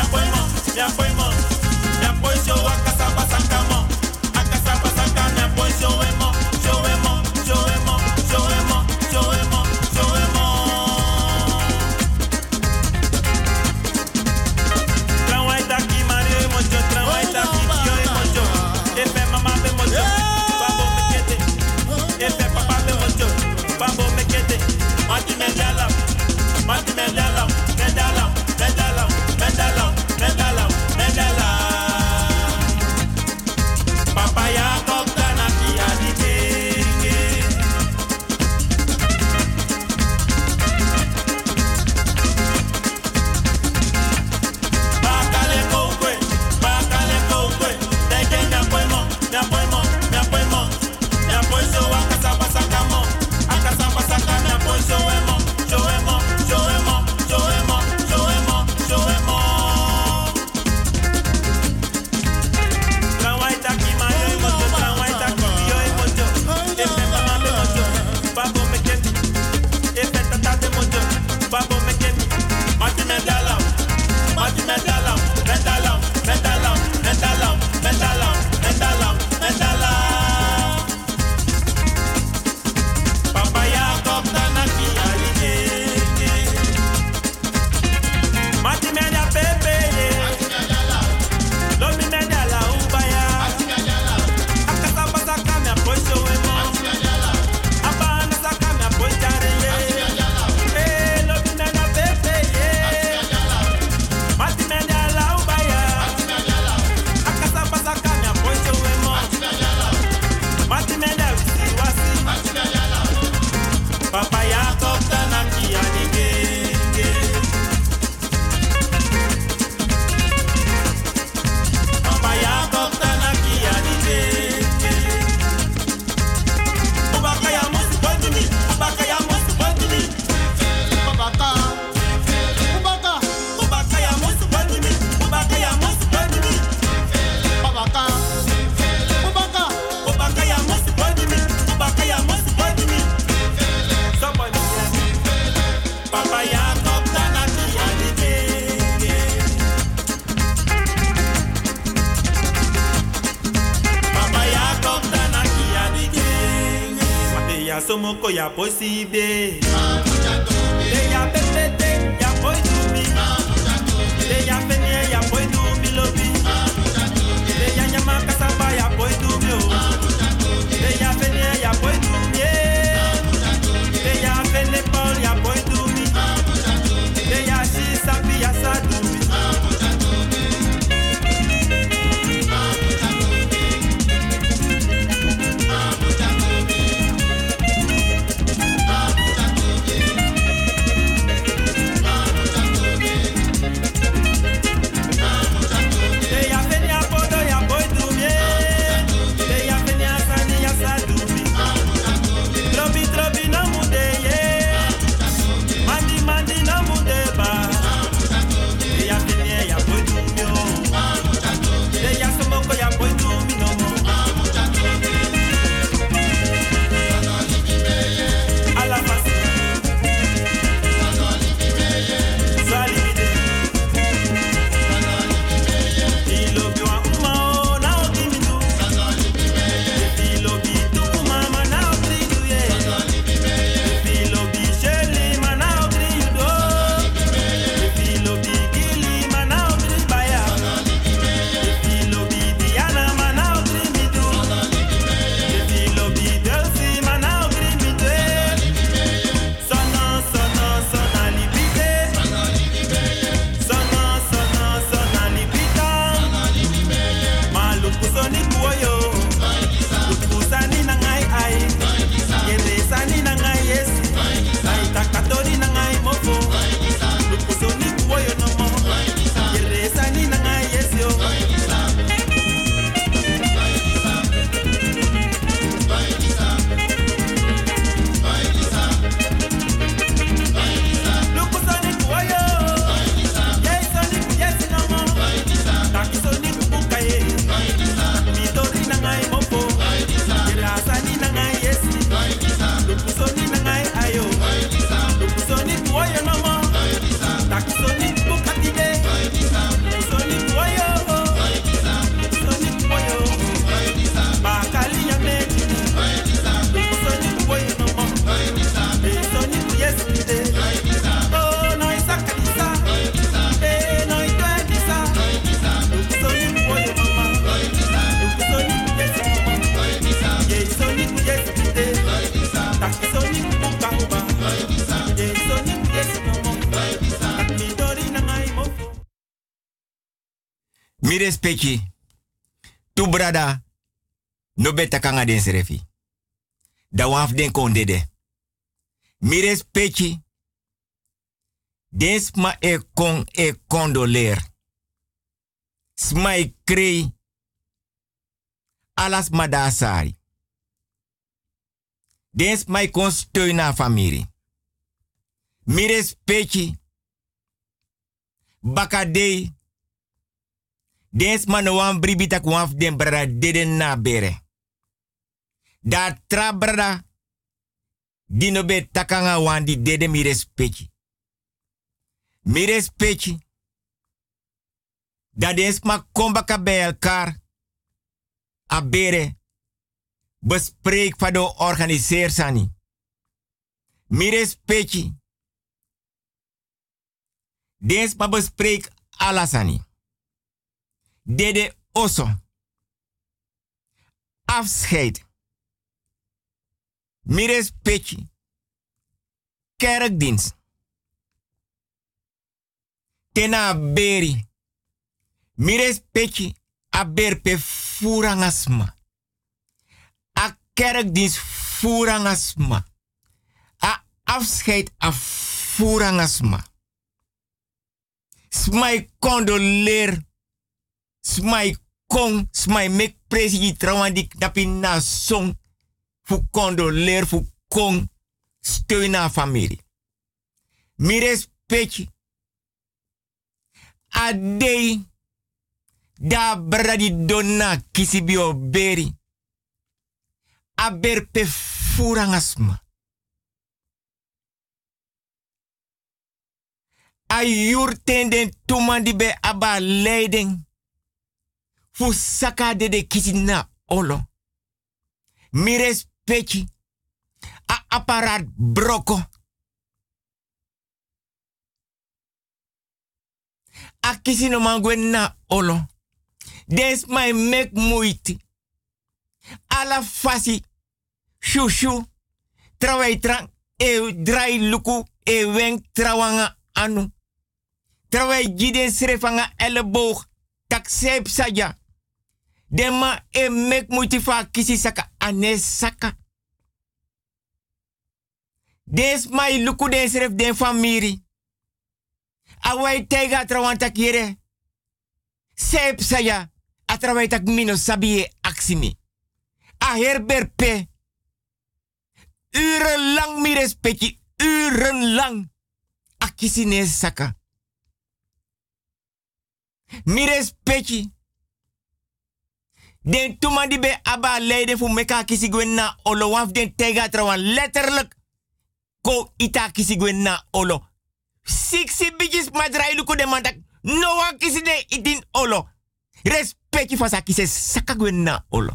me apoio show akasaba sankamo, me apoio show emo. Tranwai taki Mario emojo, tranwai taki Kio emojo, efe mama be mojo, babo mekete, efe papa be mojo, babo mekete, mati medala. Papa Jacob tanaki adike. Bakale kokwe, teke me apoimo, me apoio akasaba sakamo, me apoio show emo. Tranwai taki Mario emojo, tranwai taki Kio emojo, efe mama be mojo, babo meketi, efe tata be mojo, babo meketi, mati medala. Papa Jacob tanaki alije. Mati media pepe, lomi media la ubaya. Akasaba saka me apoio emo. Abana saka me apoio jarele. Lomi media pepe, mati media la ubaya. Akasaba saka me apoio emo. Mati media wasi. Papa Jacob tanaki adige. Papa Jacob tanaki adige. Ubaka ya musu bondimi. Ubaka ya musu bondimi. Ubaka ya musu bondimi. Ubaka ya musu bondimi. Ubaka ya musu bondimi. Ubaka ya musu bondimi. Somebody Papa Jacob tanaki adige. Papa Jacob tanaki adige. Wate ya somoko ya posibe. De ya pepete ya poidumi. De ya penye ya poidumi lobi. De ya nyama kasaba ya poidumi o. De ya penye ya poidumi. De ya pene Paul ya poidumi. De ya shi sabi ya sadumi. Mi respecti. Tu brada. No beta kanga den serefi. Da waf den kondede. Mi respecti. Densma e kon e condoleer. Smai krei. Alas madasari. Dens mai kon steun na familie. Mi respecti. Bakadei. Dens man wan bribita kwaf den brada deden na bere. Da tra brada. Dino be takanga wan di dede mi respecti. Mi respecti. Da dens ma kombaka bij elkaar. A bere. Bespreek van de organiseer sani. Mi respecti. Dens ma bespreek alasani. Dede oso. Afscheid. Mi respecti. Kerkdienst. Tena beri. Mi respecti. A berpe furangasma. A kerkdienst furangasma. A afscheid a furangasma. Smai condoleer. Smai kon. Smai mek presigi trawandik dapi na song. Fu condoleer fu kon. Steun na familie. Mi respecti. A dei. Da bradi donna kisibio beri. A berpe furangasma. A yurtenden tumandi be aba leiding. Fu saka de kisina olo. Mi respecti. A apparaat broko. A kisino mangwen na olo. Des my mek moeite. Ala fasi. Shushu. Trawai trang. E drai luku. E wen trawanga anu. Trawai giden srefanga elleboog. Tak seep saja. Dema e mek moeite fa kisi saka ane saka. Des my luku den sref den famiri. Awai tega trawanta kire. Seep saja. A trawai tak mino sabie aksimi. A herberpe. Urenlang mi respecti. Urenlang. A kisine saka. Mi respecti. Den tumandi be aba leiden fu meka kisigwen na olo. Waf den tega trawan letterlijk. Ko ita kisigwen na olo. Siksi bijis madrai luku de mandak. No wan kisine itin olo. Respecti fa sa kise saka gwen na olo.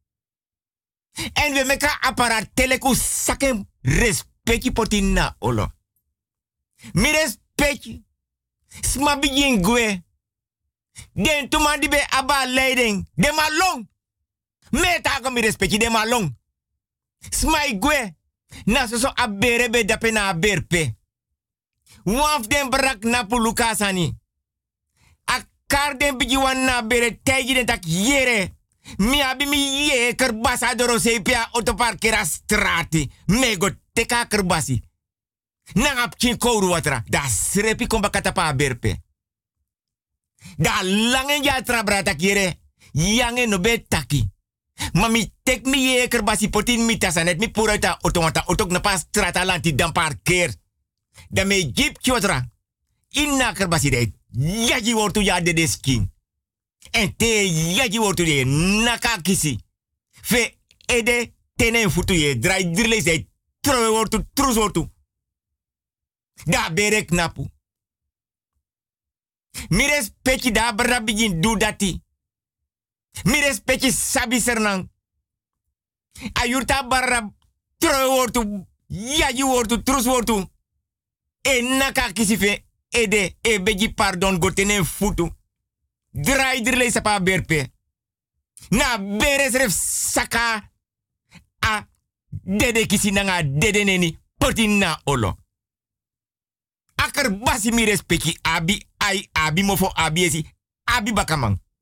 En we meka apparaat teleku sakem respecti potin na olo. Mi respecti. Sma bijin gwe. Den tumandi be aba leiding. De malong. Meta ko mi respecti de malong. Sma gwe. Na so abere be dape na aberpe. Waf den brak na puluka sani. Akar den biji wan na bere teji den tak yere. Mi abi mi ye kerbasa doro sepia autoparkera strati. Mego teka kerbasi. Nangap chin kouru watra. Da srepi kombakata pa berpe. Da langen ja trabra tak yere. Yange no be taki. Mami tek mi ye kerbasi potin mi tasanet mi purata automata otok na pa strata lanti dan parkeer. Da me jeep chwatra. Inna kerbasi de. Yaji wortu ya de desking. En te yaji wortu de naka kisi. Fe ede tenen futu ye drai drle se trowe wortu trus wortu. Da bere knapu. Mi respecti da brabijin du dati. Mi respecti sabi sernang. Ayurta barra trowe wortu yaji wortu trus wortu. E naka kisi fe ede e beji pardon gotene futu. Drai drle sapa berpe. Na bere sref saka a dede kisi nanga dede neni portin na olo. Akar basi mi respecti abi ai abi mofo abi esi abi bakamang.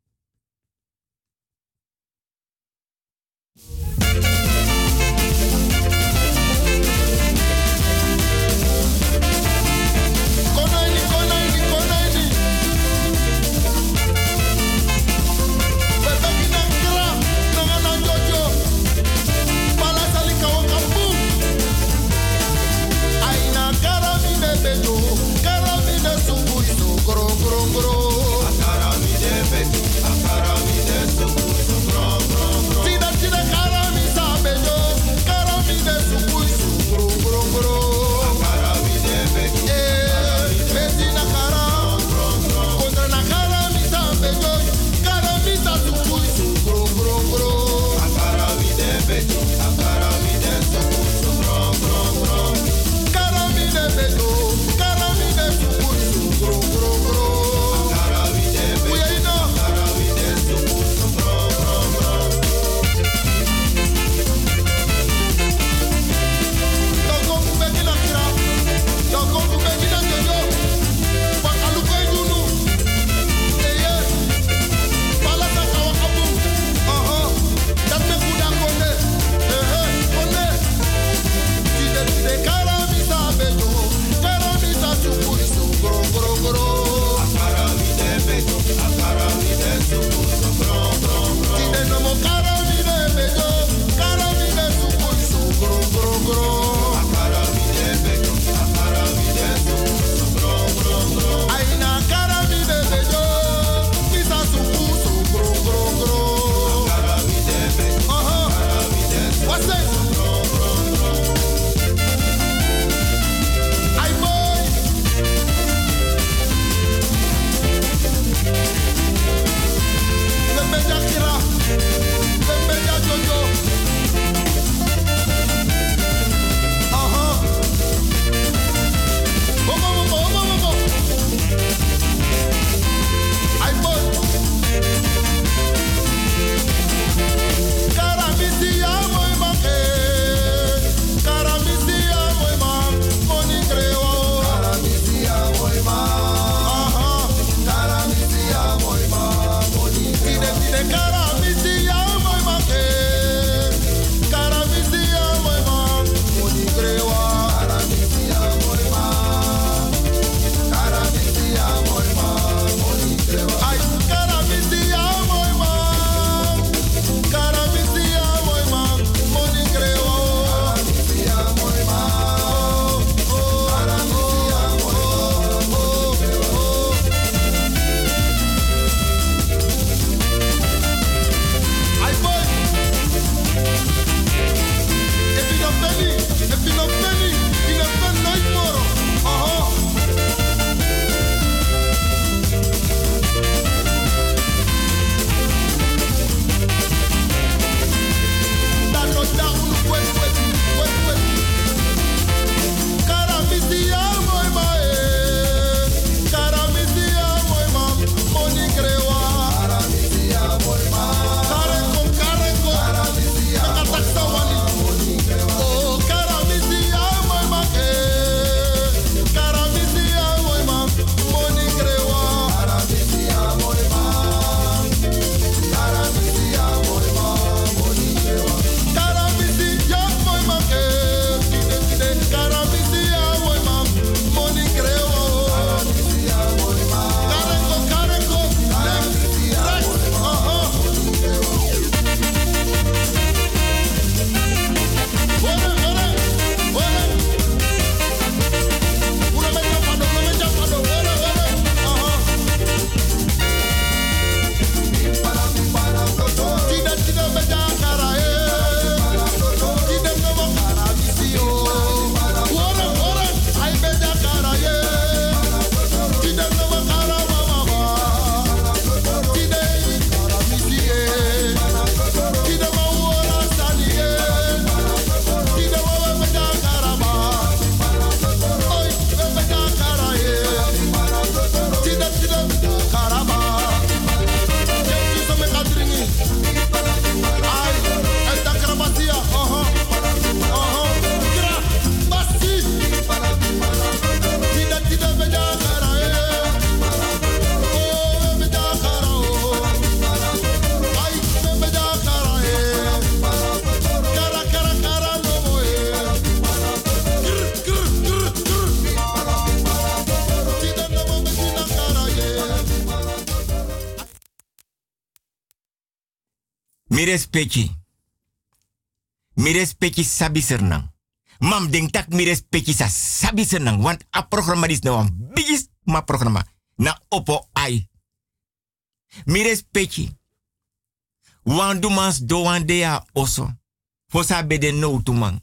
Mi respecti sabi sernang. Mam denk tak mi respecti sa sabi sernang. Want a programma is nou een bigis ma programma. Na opo ai. Mi respecti. Wan dumans do wan dea oso. Fosa bede no tumang.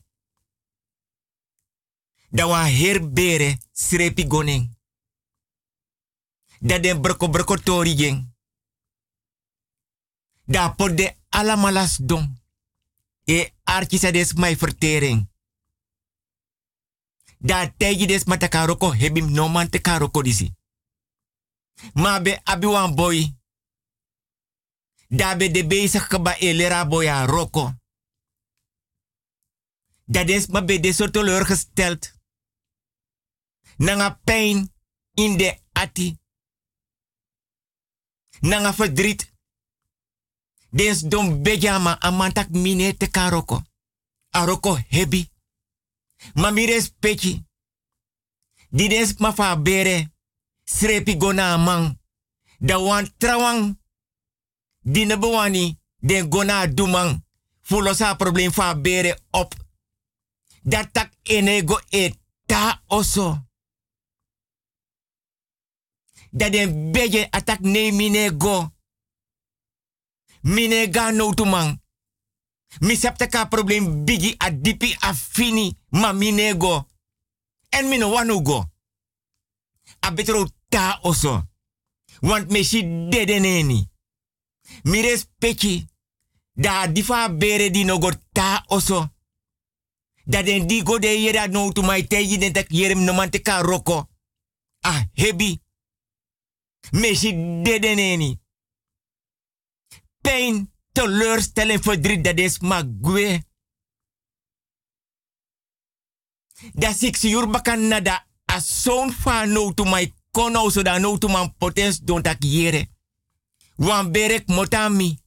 Da wan herbere srepi goning. Da den broko tori jeng. Da pot de alamalas don. E archisa des mai vertering. Da tegi des matakaroko hebim no man te karoko disi. Ma be abi wan boy. Da be de bezig keba elera boya roko. Da des ma be de zo teleurgesteld. Nanga pijn in de ati. Nanga verdriet. Des don bejama amantak mine te karoko. Aroko hebi. Ma mi respecti. Di des ma fa bere. Srepi gona amang. Da wan trawang. Di ne bewani. Den gona dumang. Fulosa problem fa bere op. Dat tak enego eta oso. Dat den beje atak ne minego. Minega no tumang. Mi septe ka problem bigi a dipi a fini. Ma minego. En mino wanu go. A betro ta oso. Want me si dede neni. Mi respecti. Da difa bere di no go ta oso. Da den di go de yera no to my teji den tak yerem no man te ka roko. Ah hebi. Me si dede neni. Pijn, teleurstelling, verdriet, dat is maar gwe. Dat ik zuur bakan nada a zoon van no to my kono so da no to man potens don tak yere. Wan berek motami.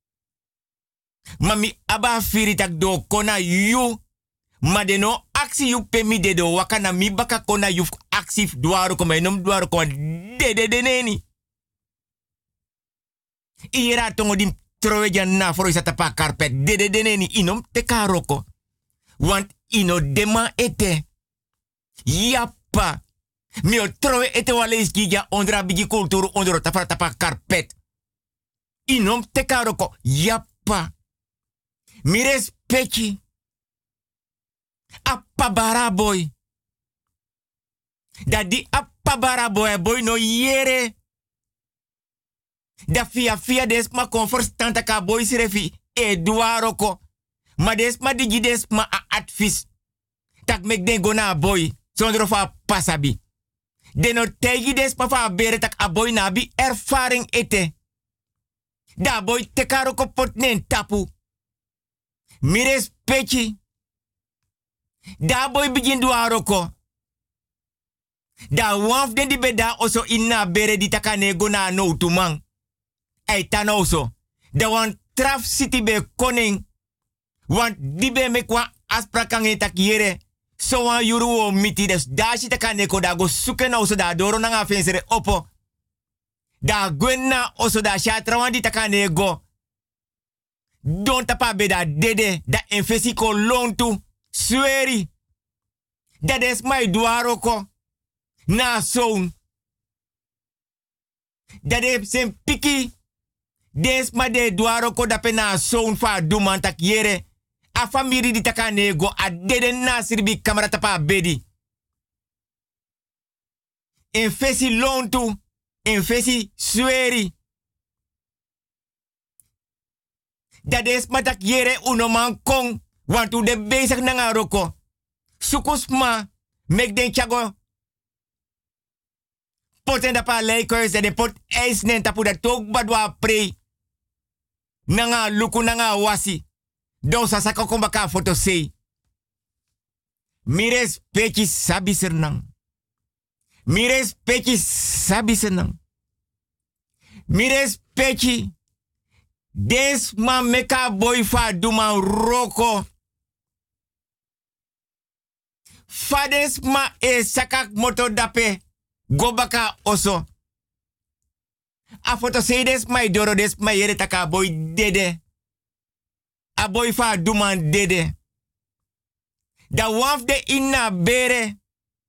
Mami aba firi tak do kona yu. Ma de no aksi yu pemi de do wakana mi baka kona yu aksi duaro koma enom duaro koma de neni. Ira tongo dim troeja na foro isa tapa karpet. De neni inom te karoko. Want ino dema ete. Yappa. Mio troe ete wale is gija ondra bigi kulturu ondro tapa karpet. Inom te karoko. Yappa. Mi respecti. Appa baraboy. Da di appa baraboy boy no yere. Da fia des ma converstanta ka boy sirefi Eduaroko. Ma des ma digi des ma a advies. Tak mek den gona boy. Zonder fa pasabi. Den no tegi des ma fa bere tak a boy nabi ervaring ete. Da boy te karoko pot nen tapu. Mi respecti. Da boy begin duaroko. Da waf den di beda oso inna bere di takane gona no tumang. Ei tanoso. Da wan traf city be koning. Want di be mekwa asprakan e takiere. So wan yuru o miti des. Da si takane ko da go suke na oso da doro na nga fensere opo. Da gwen na oso da shatra wan di takane go. Don tapa beda dede. Da enfesi ko lontu. Sweri. Dat is mijn duaroko. Na zoon. Dat is zijn piki. Des ma de duaroko da pe na zoon fa duman tak yere. A famiri di taka nego. A dede na sirbi kamera tapa bedi. En fesi lontu. En fesi sweri. Dat is ma tak yere unoman kong. Want u de bezig na roko. Sukusma. Mek den chago. Poten da pa leikers en de pot ijs nen tapu da tok badwa pre. Nanga luku nanga wasi. Don sa sako kombaka foto sei. Mires peki sabi sernang. Mires peki sabi sernang. Mires peki. Des ma meka boy fa duman roko. Fades ma e sakak moto dape. Gobaka oso. A foto sei des ma idoro des ma yere taka boy dede. aboy fa duman dede. Da waf de inna bere.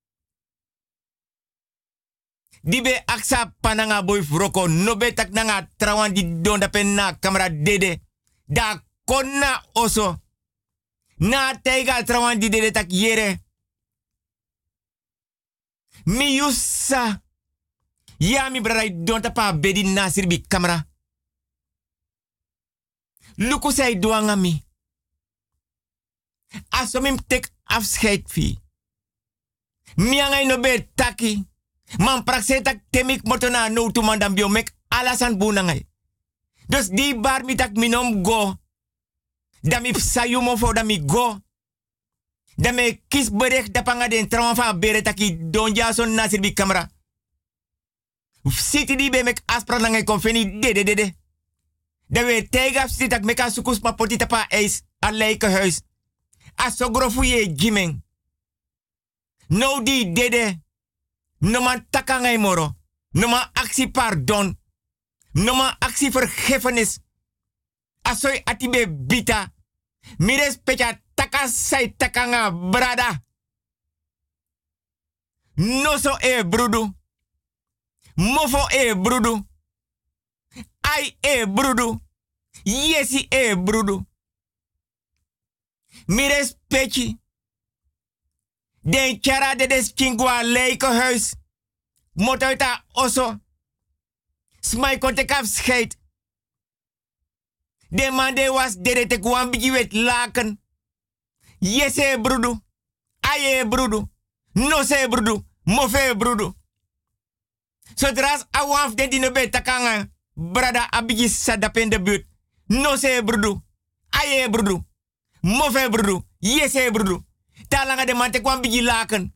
Dibe aksa pananga boy froko nobe tak nanga trawan di don da penna kamera dede. Da konna oso. Na teiga trawan di dede tak yere. Mi yusa. Ya mi brada don tapa bedi nasir bi kamera. Luku say doanga mi. Asomim tek afscheid fi. Miangay no be taki. Man praksetak temik motona no tu mandam biomek alasan bunangay. Dus di bar mi tak minom go. Dami sayumo fo dami go. Dame kis berek da panga den trawan fa bere taki don jason nasir bi kamera. Siti di be mek aspra langay konfeni dede. Da we tegaf siti tak meka sukus ma potita pa eis a Lijkenhuis. Asogrofu ye jimeng. No di dede. No man takangay moro. No man actie pardon. No man actie vergiffenis. Asoy atibe bita. Mires pecha takasay takanga brada. No so brudu. Mofo brudu. Ai brudu. Yesi brudu. Mires pechi. Den chara de des kingwa Lijkenhuis. Motoita oso. Smai kontek afscheid. De man de was dede te kwam bigi wet laken. Yese brudu. Aye brudu. No se brudu. Mofe brudu. Zodra awaf den die nebe takanga. Brada abigi sadapen de buurt. No se brudu. Aye brudu. Mofe brudu. Yese brudu. Talanga de man te kwam bigi laken.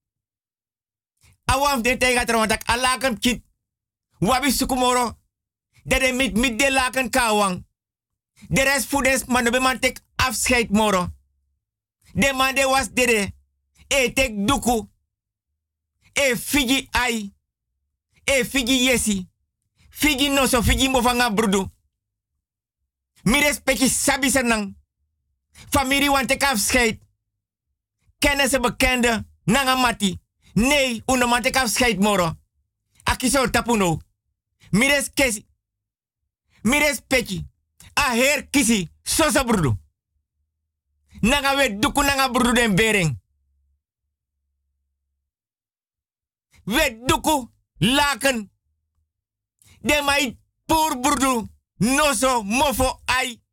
Awaf den tega trawantak a laken kit. Wabi sukumoro. Dede mit de laken kawang. De rest voedens man no be man tek afscheid moro. De man de was dede. E tek duku. E figi ai. E figi yesi. Figi noso figi mofanga brudu. Mi respecti sabi senang. Familie want tek afscheid. Kennis en bekende. Nanga mati. Nee, uno man tek afscheid moro. Akiso tapuno. Mi res kesi. Mi respecti. A her kisi. Sosa brudu. Nanga we duku nanga brudu den bering. We duku laken. De mai pur brudu. Noso mofo ai.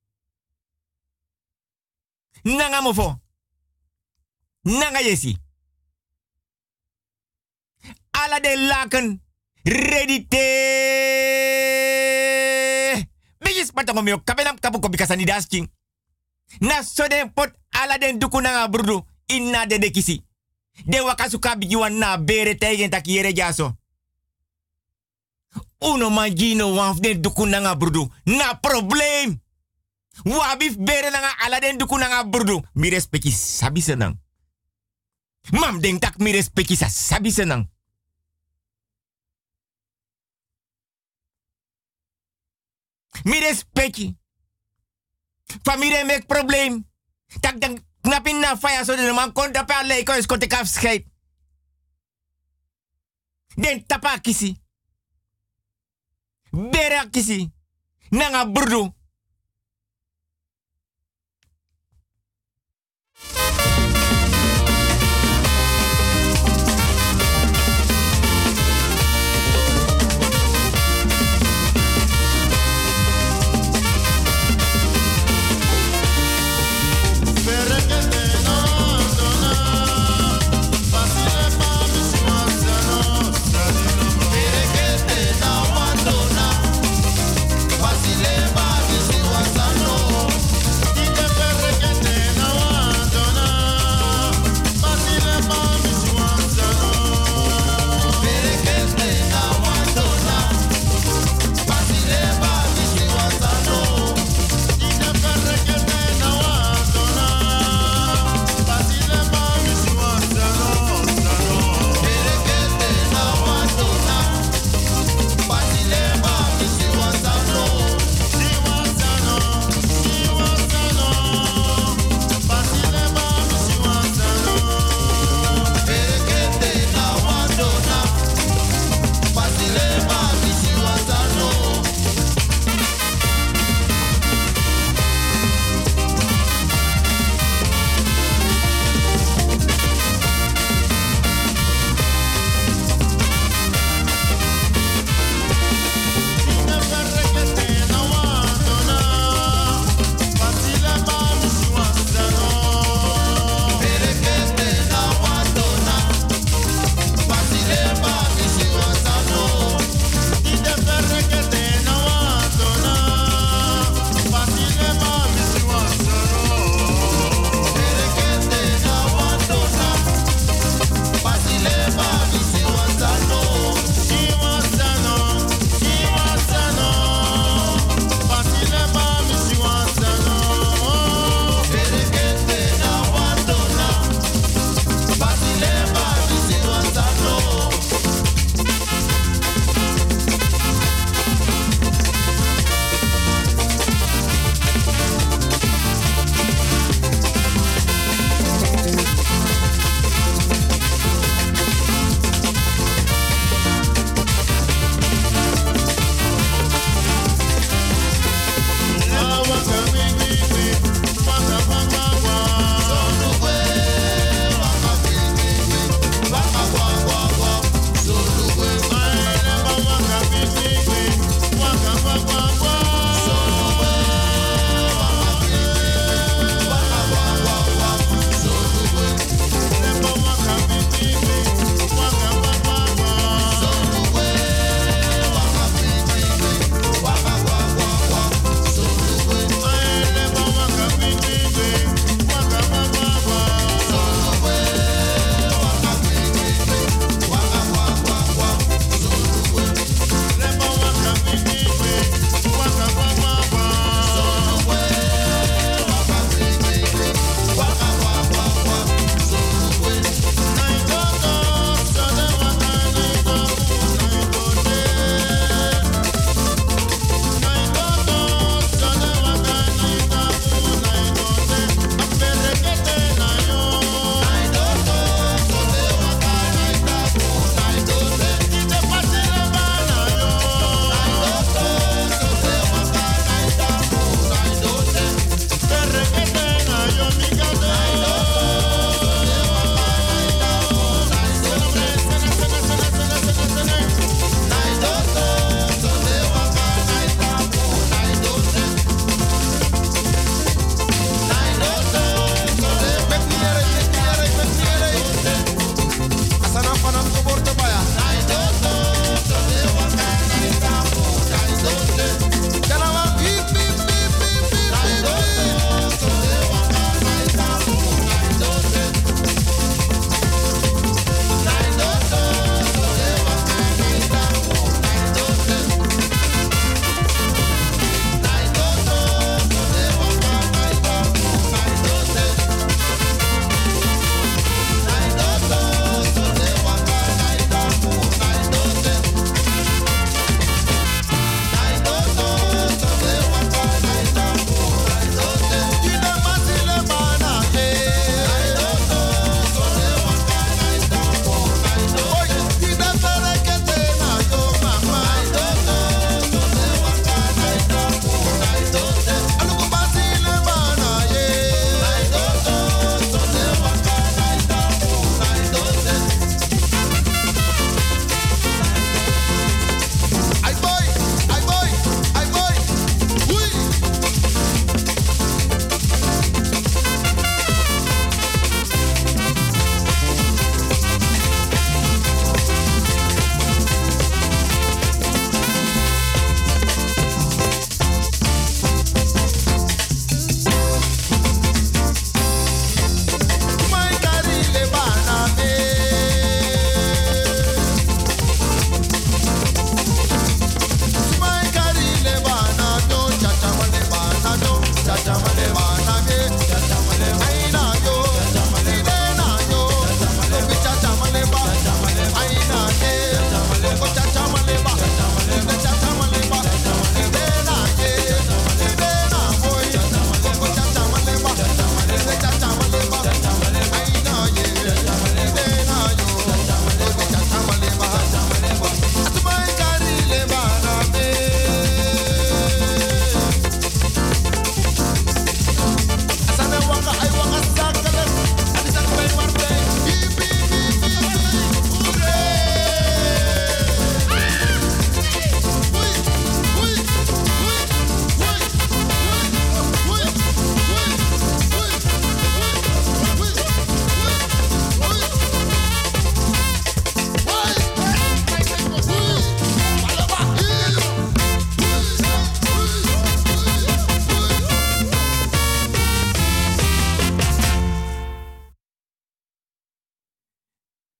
Nanga mofo. Nanga yesi. Ala de laken. Ready te. Bigis patango mio kabenam kapu ko bikasani dasking. Na soden pot ala den duku nanga brudu. Inna de kisi. De wakasuka bijiwan na bere tegen takiere jaso. Uno magino waf den duku nanga brudu. Na probleem. Wabif bere nanga ala den duku nanga brudu. Mi respecti sabi senang. Mam den tak mi respecti sa sabi senang. Mi respecti. Familie mek probleem. Tak dan knapin na faya so de man kon tapa Lijkenhuis kon te afscheid. Den tapa kisi. Bera kisi. Nanga brudu. Facile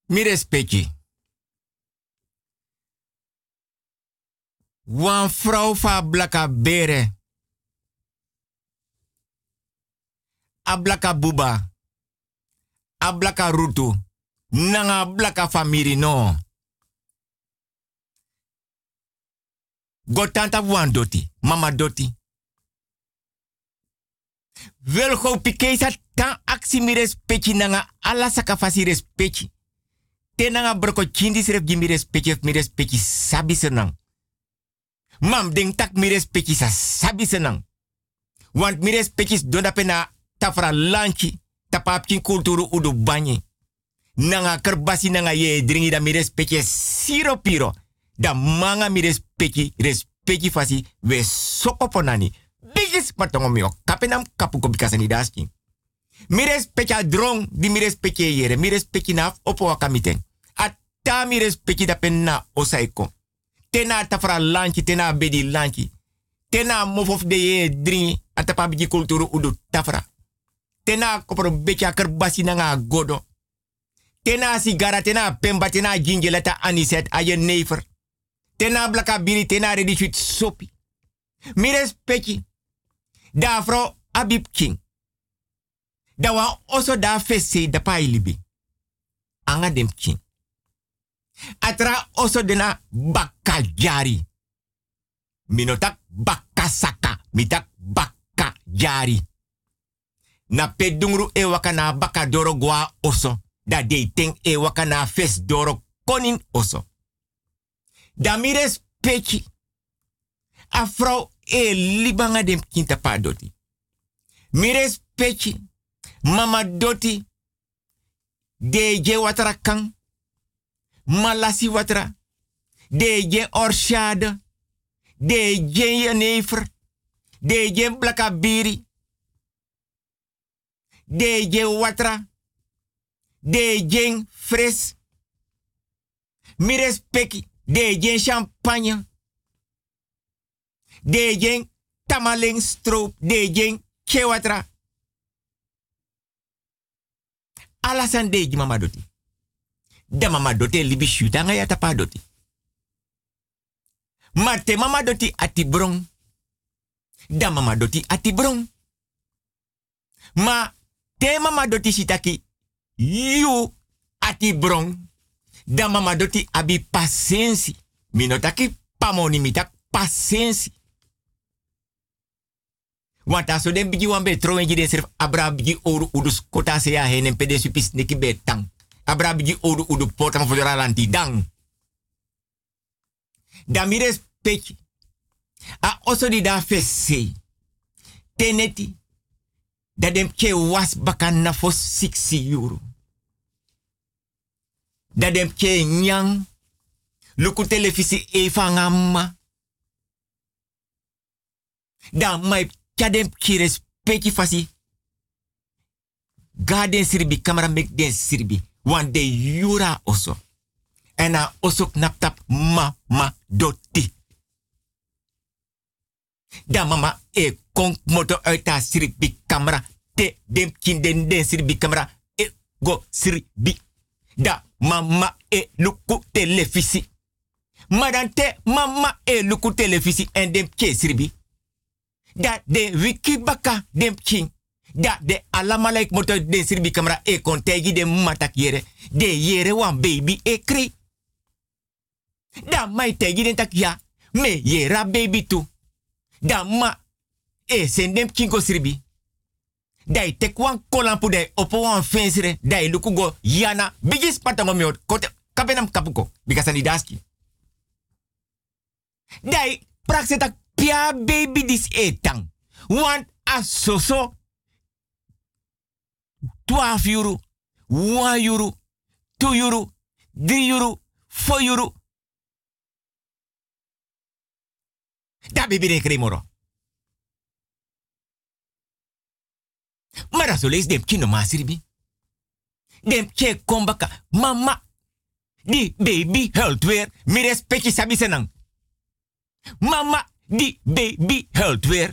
Mi respecti. Wan vrouw fa blaka bere. A blaka buba. A blaka rutu. Nanga blaka famiri no. Gotanta wan doti. Mama doti. Wel go pikesa tan aksi mi respecti nanga ala saka fasi respecti. Te nanga broko chindi sref gi mi respecti sabi senang. Mam ding tak mi respecti sa sabi senang. Want mi respecti donda pena tafra lanchi tapapkin kulturu udu banyi. Nanga kerbasi nanga ye dringi da mi respecti siro piro. Da manga mi respecti fasi we sokoponani. Bigis patongo mio kapenam kapuko bikasani daski. Mi respecti a drong di mi respecti yere. Mi respecti naf opo wakamiten. Ata mi respecti da penna osaiko. Tena tafra lanchi, tena bedi lanchi. Tena mofof de ye dringi atapa bigi kulturu udu tafra. Tena kopro becha kerbasi nanga godo. Tena sigara, tena pemba, tena gingeleta aniset aye never. Tena blaka biri, tena ready sweet sopi. Mi respecti. Da fro Abib King. Da wa oso da fese da pa ilibi. Anga dem king. Atra oso dena bakajari. Minotak bakasaka. Mitak bakajari. Na pedungru e wakana bakadoro gwa oso. Da de ting e wakana fes doro konin oso. Da mi respecti. Afro e libanga dem kinta pa doti. Mi respecti. Mama doti. Deje watara kang. Malasi watra. Deje orshade. Deje jenever. Deje blakabiri. Deje watra. Deje fres. Mi respecti. Deje champagne. Deje tamaling stroop. Deje kewatra. Alasan deje mama doti. Da mama doti libi shuta nga yata pa doti. Ma te mama doti ati brong. Da mama doti ati brong. Ma te mama doti shitaki yu ati brong. Da mama doti abi pasensi. Minotaki pamoni mitak pasensi. Want aso den bigi wan be trowen den serf abra bigi oru udus kota se ya henen pede supis neki betang. Abra bigi oru udu portam fodora lanti dang. Damires peki. A oso di da fesse. Teneti. Da dem ke was bakan na fos 6 euro. Da dem ke nyang. Luku televisi e fangama. Da mai kadem ki respecti fasi. Garden sirbi, camera make den sirbi. Want de yura oso. En a oso knaptap mama doti. Da mama e konk moto uit a sirbi camera. Te dem kin den sirbi camera. E go sirbi. Da mama e luku televisi. Madante mama e luku televisi en dem ke sirbi. Da de wiki baka dem king. Da de alamalaik moto de sirbi camera e kontegi de matak yere. De yere wan baby e kri. Da mai tegi den tak ya. Me yera baby tu. Da ma e sen dem king ko sirbi. Da i tek wan kolampu de opo wan fensire. Da i luku go yana. Bigis patango miot. Kote kapenam kapuko. Bikasani daski. Da i praksetak pia baby dis etang. Want a soso 12 euro, 1 euro, 2 euro, 3 euro, 4 euro. Da baby de kremoro. Mara so lees dem kino masiribi. Dem ke kombaka. Mama. Di baby health weer. Mi respecti sabi senang. Mama. Di baby health weer.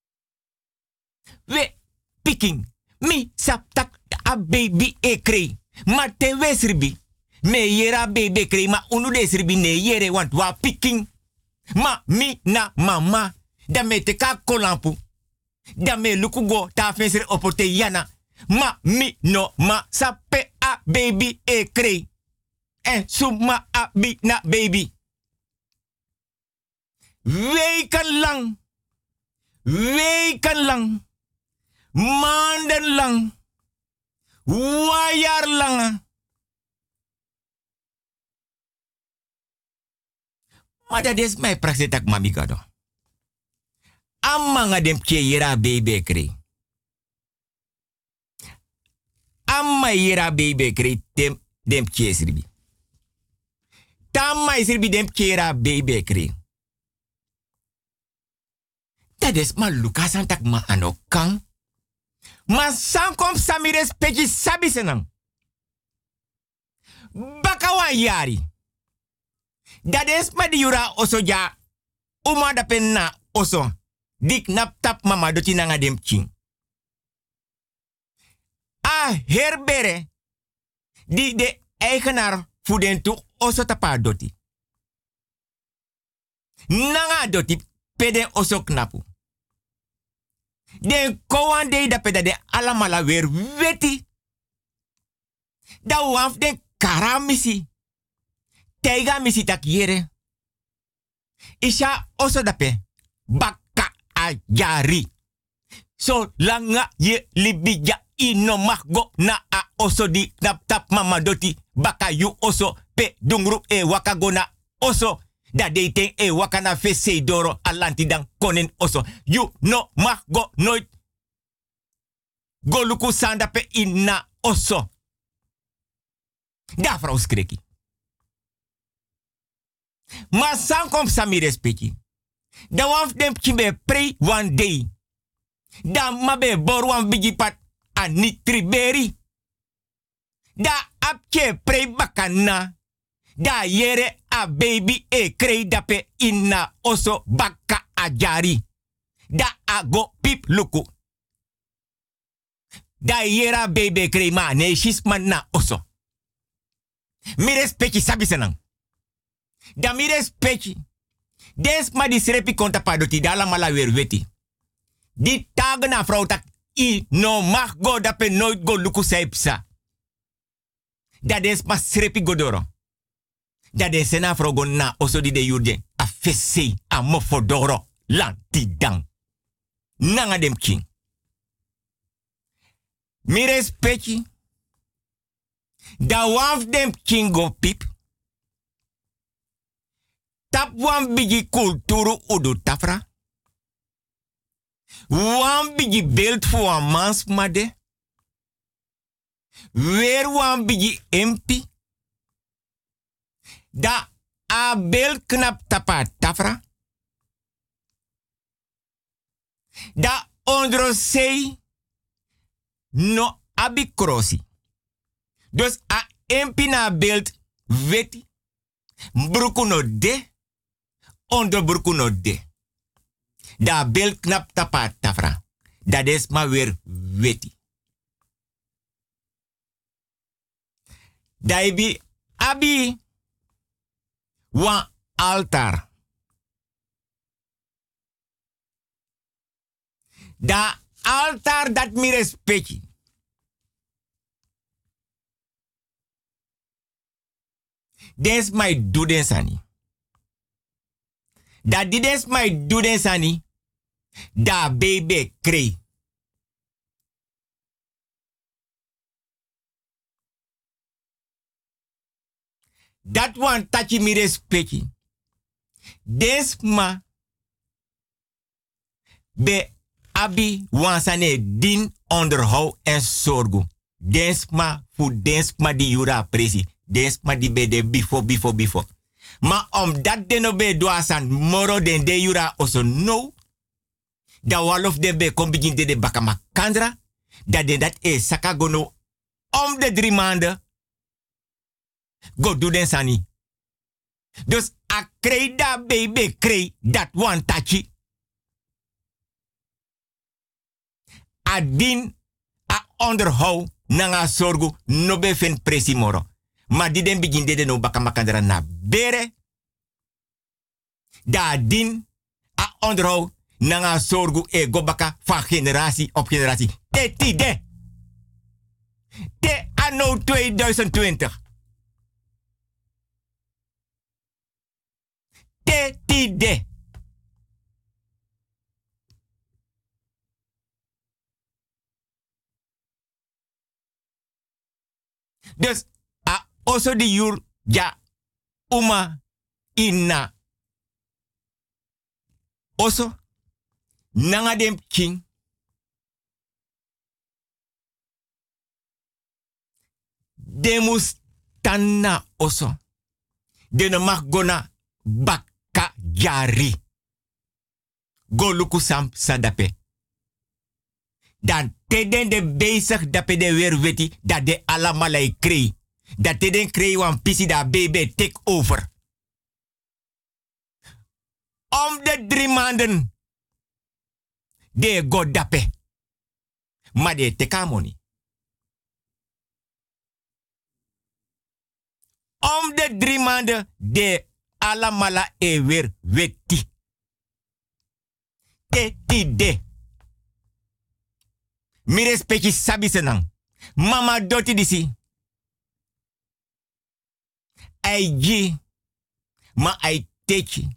We picking. Mi saptak a baby e kree. Ma te wesribi. Me yera baby krei ma unu de sribi ne yere want wa picking. Ma mi na mama. Da me te ka kolampu. Da me lukugo ta fensere opote yana. Ma mi no ma sape a baby e krei. En suma a bi na baby. Weken lang. Maanden lang. Wajar lang. Maar dat is mijn praktijk tak mami gado. Amma nga dem yera baby krei. Amma yera baby krei dem sribi. Tamma sribi dem yera baby krei. Dat is ma Lucas tak ma anokang. Ma sankom sami respecti sabi senang. Bakawan yari. Dat is ma di yura oso ja. Uma da penna oso. Dik nap tap mama doti nanga dem ching. A herbere. Die de eigenaar voeden toe oso tapa doti. Nanga doti pede oso knapu. Den kowan de da peda de alamala weer weti. Da waf den karamisi. Teiga misi tak yere. Isha oso dape. Baka a jari. So langa ye libija ino mahgo na a oso di nap tap mama doti. Baka yu oso pe dungru e wakago na oso. Da de ten e wakana fese doro alanti dan konen oso. You no mahgo nooit. Go luku sanda pe ina oso. Da vrouw skreki. Ma san kom sami respecti. Da waf dem kimbe pray one day. Da mabe bor wan bigi pat ani triberi. Da apke pray bakana. Da yere a baby e krei dape inna oso baka a jari. Da a go pip luku. Da yera baby krei ma ne shisman na oso. Mi respecti sabi senang. Da mi respecti. Des ma di srepi konta padoti da la mala weer weti. Di tag na vrouw tak i no mag go dape nooit go luku saipsa. Da des ma srepi godoro. Da de sena frogo na oso di de yurde a fesse a mofodoro lanti dang. Nanga dem king. Mi respecti. Da waf dem king go pip. Tap wan bigi kulturu udu tafra. Wan bigi beeld voor wan mans made. Weer wan bigi empi. Da a bel knap tapa tafra. Da ondro sei no abi krosi. Dus a empina beeld weti. Bruku no de. Onder bruku no de. Da bel knap tapa tafra. Da des ma weer weti. Da ibi abi. Wan altar. Da altar dat mi respecti. Des mai duden sani. Da di des mai duden sani. Da baby krei. Dat wan tachi mi respecti. Des ma be abi wansane din onderhou en zorgu. Des ma fu des ma di jura presi. Des ma di be de bifo. Ma om dat de no be doasan moro den de jura oso no. Da walof de be kom begin de bakama kandra. Da de dat e sakagono om de 3 maanden. Go do den sani. Dus a krei da baby krei dat one tachi. A din a onderhou nanga sorgu no be fen presi moro. Ma di den begin de no baka makandra na bere. Da din a onderhoud nanga sorgu e go baka van generatie op generatie. Te tide. Te anno 2020. Te tide. Dus a also de jur ja uma inna. Also nanga dem king. Demus tanna also. De no mag gona baka jari. Go luku sam sadape. Dan teden de bezig dape de weer weti dat de alamalai kree. Dat teden kree wan pisi da baby take over. Om de 3 maanden. De go dape. Maar de tekamoni. Om de 3 maanden de alamala e weer weti. Te de. Mi respecti sabi senang. Mama doti disi. Ai ji. Ma ai techi.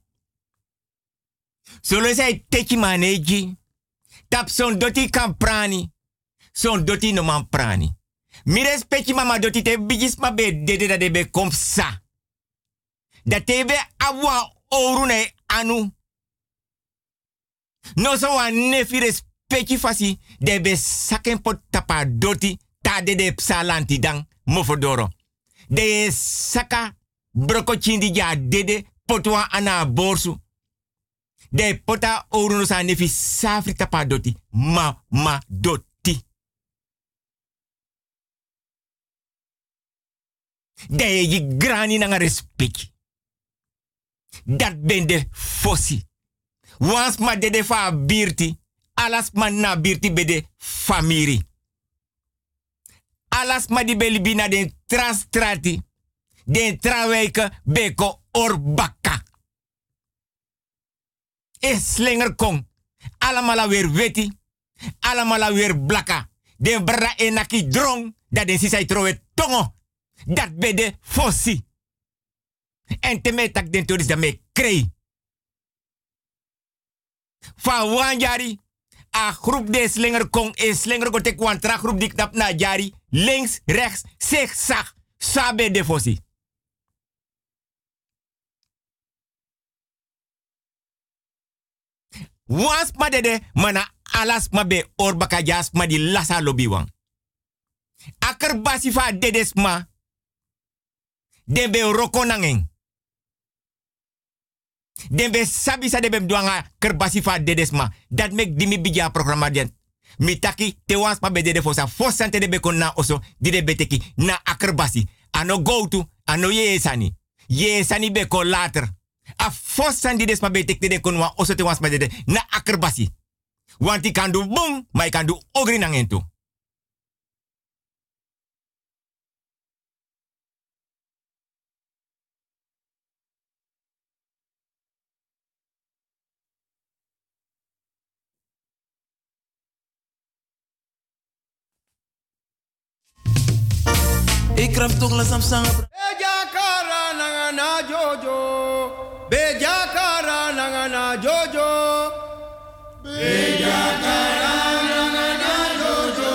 Solo sai techi maneji. Tap son doti kan prani. Son doti no man prani. Mi respecti mama doti te bigis ma be dede da debe kom sa. Da tebe awa orune anu. No so wan nefi respecti fasi debe saken pot tapa doti ta dede psalanti dang mofodoro. De saka broko chindi ja dede potwa ana borsu. De pota orunu sa nefi safri tapa doti mama doti. De je grani nanga respecti. Dat ben de fossi. Wans ma de fa birti. Alas ma na birti be de famiri. Alas ma di belibina den transtrati. Den traweke beko orbaka. E slinger kong. Alamala weer weti. Alamala weer blaka. Den bra enaki drong. Dat den sisai trowe tongo. Dat be de fossi. En te me tak den toris da me krei. Van wan jari. A groep de slinger kong en slinger ko te kwantra groep dik nap na jari. Links, rechts, zigzag. Sabe de fossi. Wans ma dede mana alas ma be orbaka jas ma di lasa lobi wan. Aker basi fa dedes ma. Den be roko nangen. Den be sabi sa de be mdwanga kerbasi fa dedesma. Dat mek dimi bija programma den. Mitaki te wans ma be dede fosa. Fosante de be kon na oso. Di de beteki na akerbasi. Ano go to. Ano ye sani. Ye sani be kon later. A fosan di desma betek de kon wa oso te wans ma dede na akerbasi. Want ik kan do boom. Maar ik kan do ogri nangen to. Ik krap toch la samsang. Beja kara nangana jojo. Beja kara nangana jojo. Beja kara nangana jojo.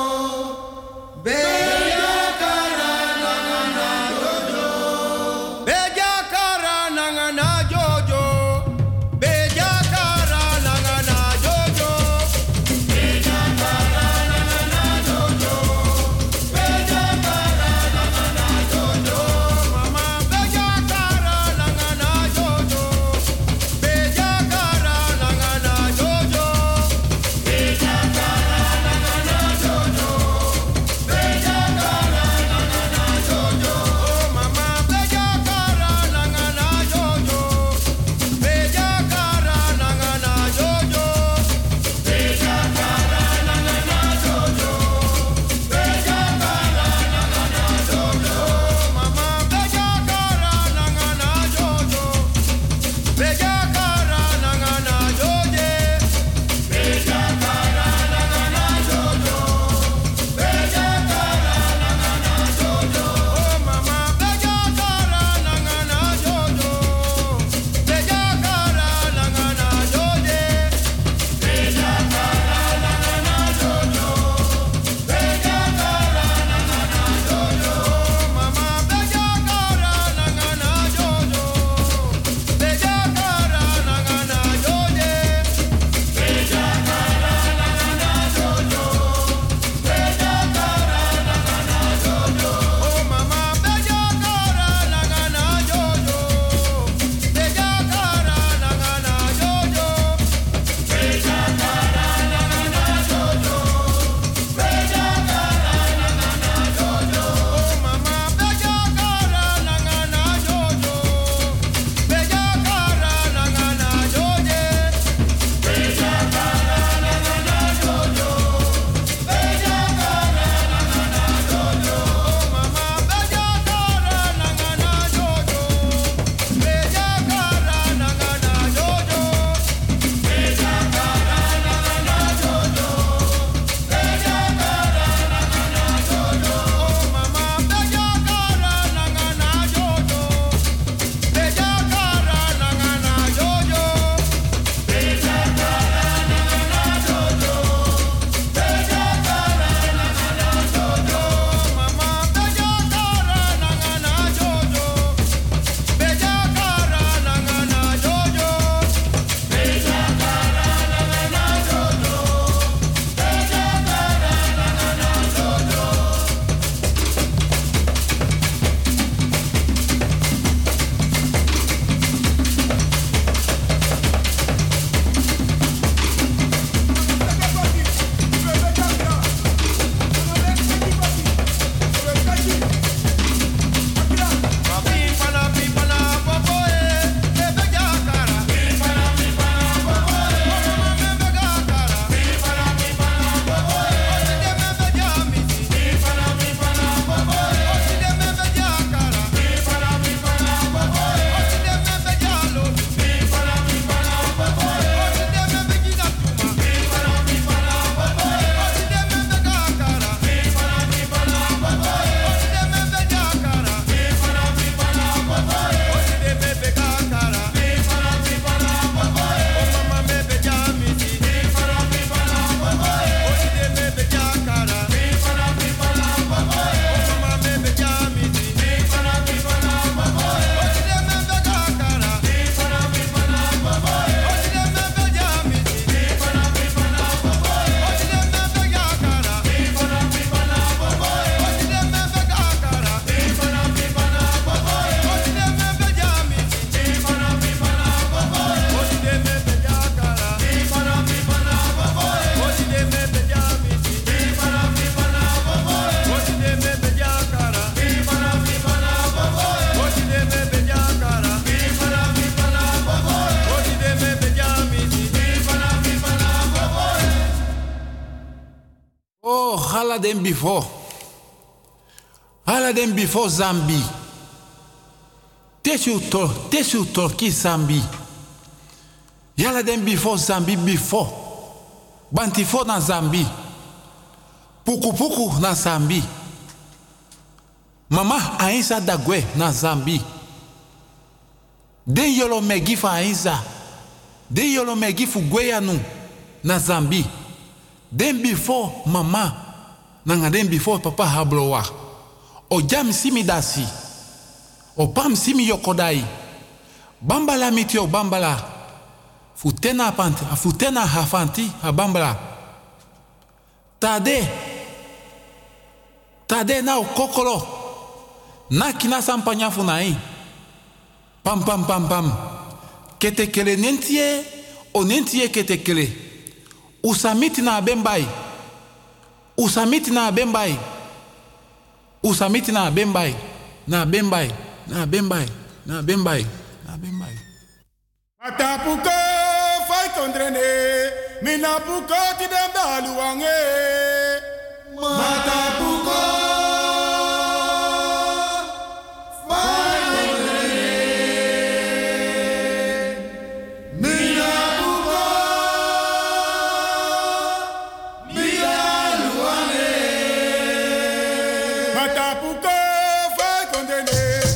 Beja kara nangana jojo. Beja kara nangana jojo. Beja kara nangana jojo. Beja kara nangana jojo. Beja kara nangana jojo. Mama beja kara nangana jojo. Beja kara nangana jojo. den before Zambi. Tesu Turki Zambi. Yala den before Zambi before. Bantifo na Zambi. Puku na Zambi. Mama Ainsa Dagwe na Zambi. Den yolo megi fa Ainsa. Den yolo megi fu Gweyanu na Zambi. Den before mama. Nanga den before papa hablowa. O jam simi dasi. O pam simi yokodai. Bambala mitio bambala. Futena hafanti ha bambala. Tade na o kokolo. Na kina sampanya funai. Pam. Ketekele nentie. O nentie ketekele. Usamiti na bembai. Na bembai. Matapuko fai kondrene, minapuko tidem daluange. Matapuko fai kondrene, minapuko daluange. Matapuko fai kondrene.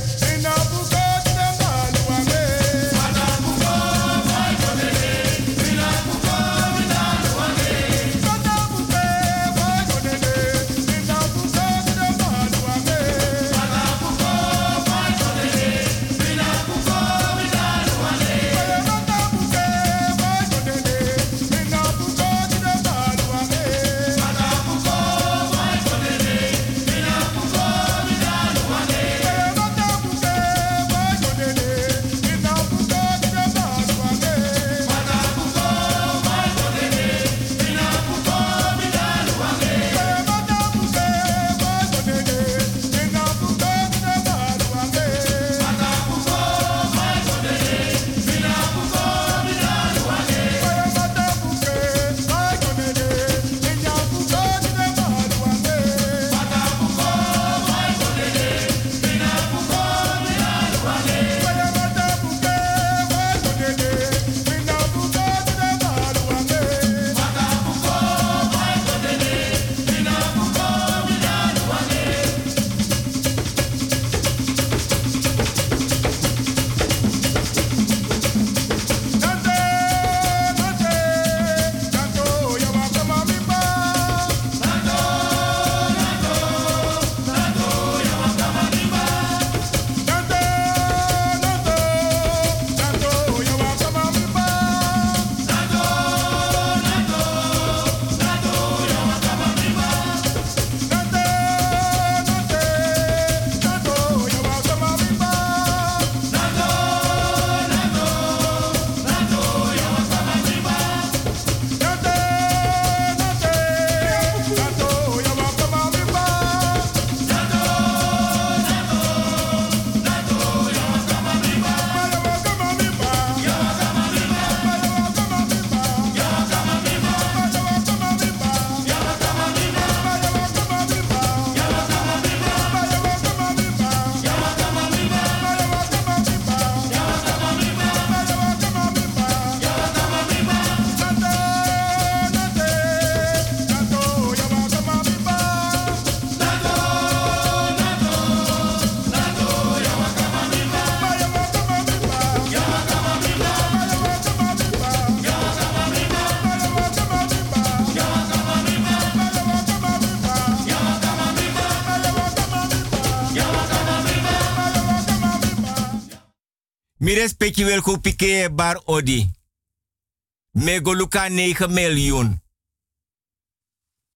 Mi respecti wel ku pike bar odi. Me goluka 9 miljoen.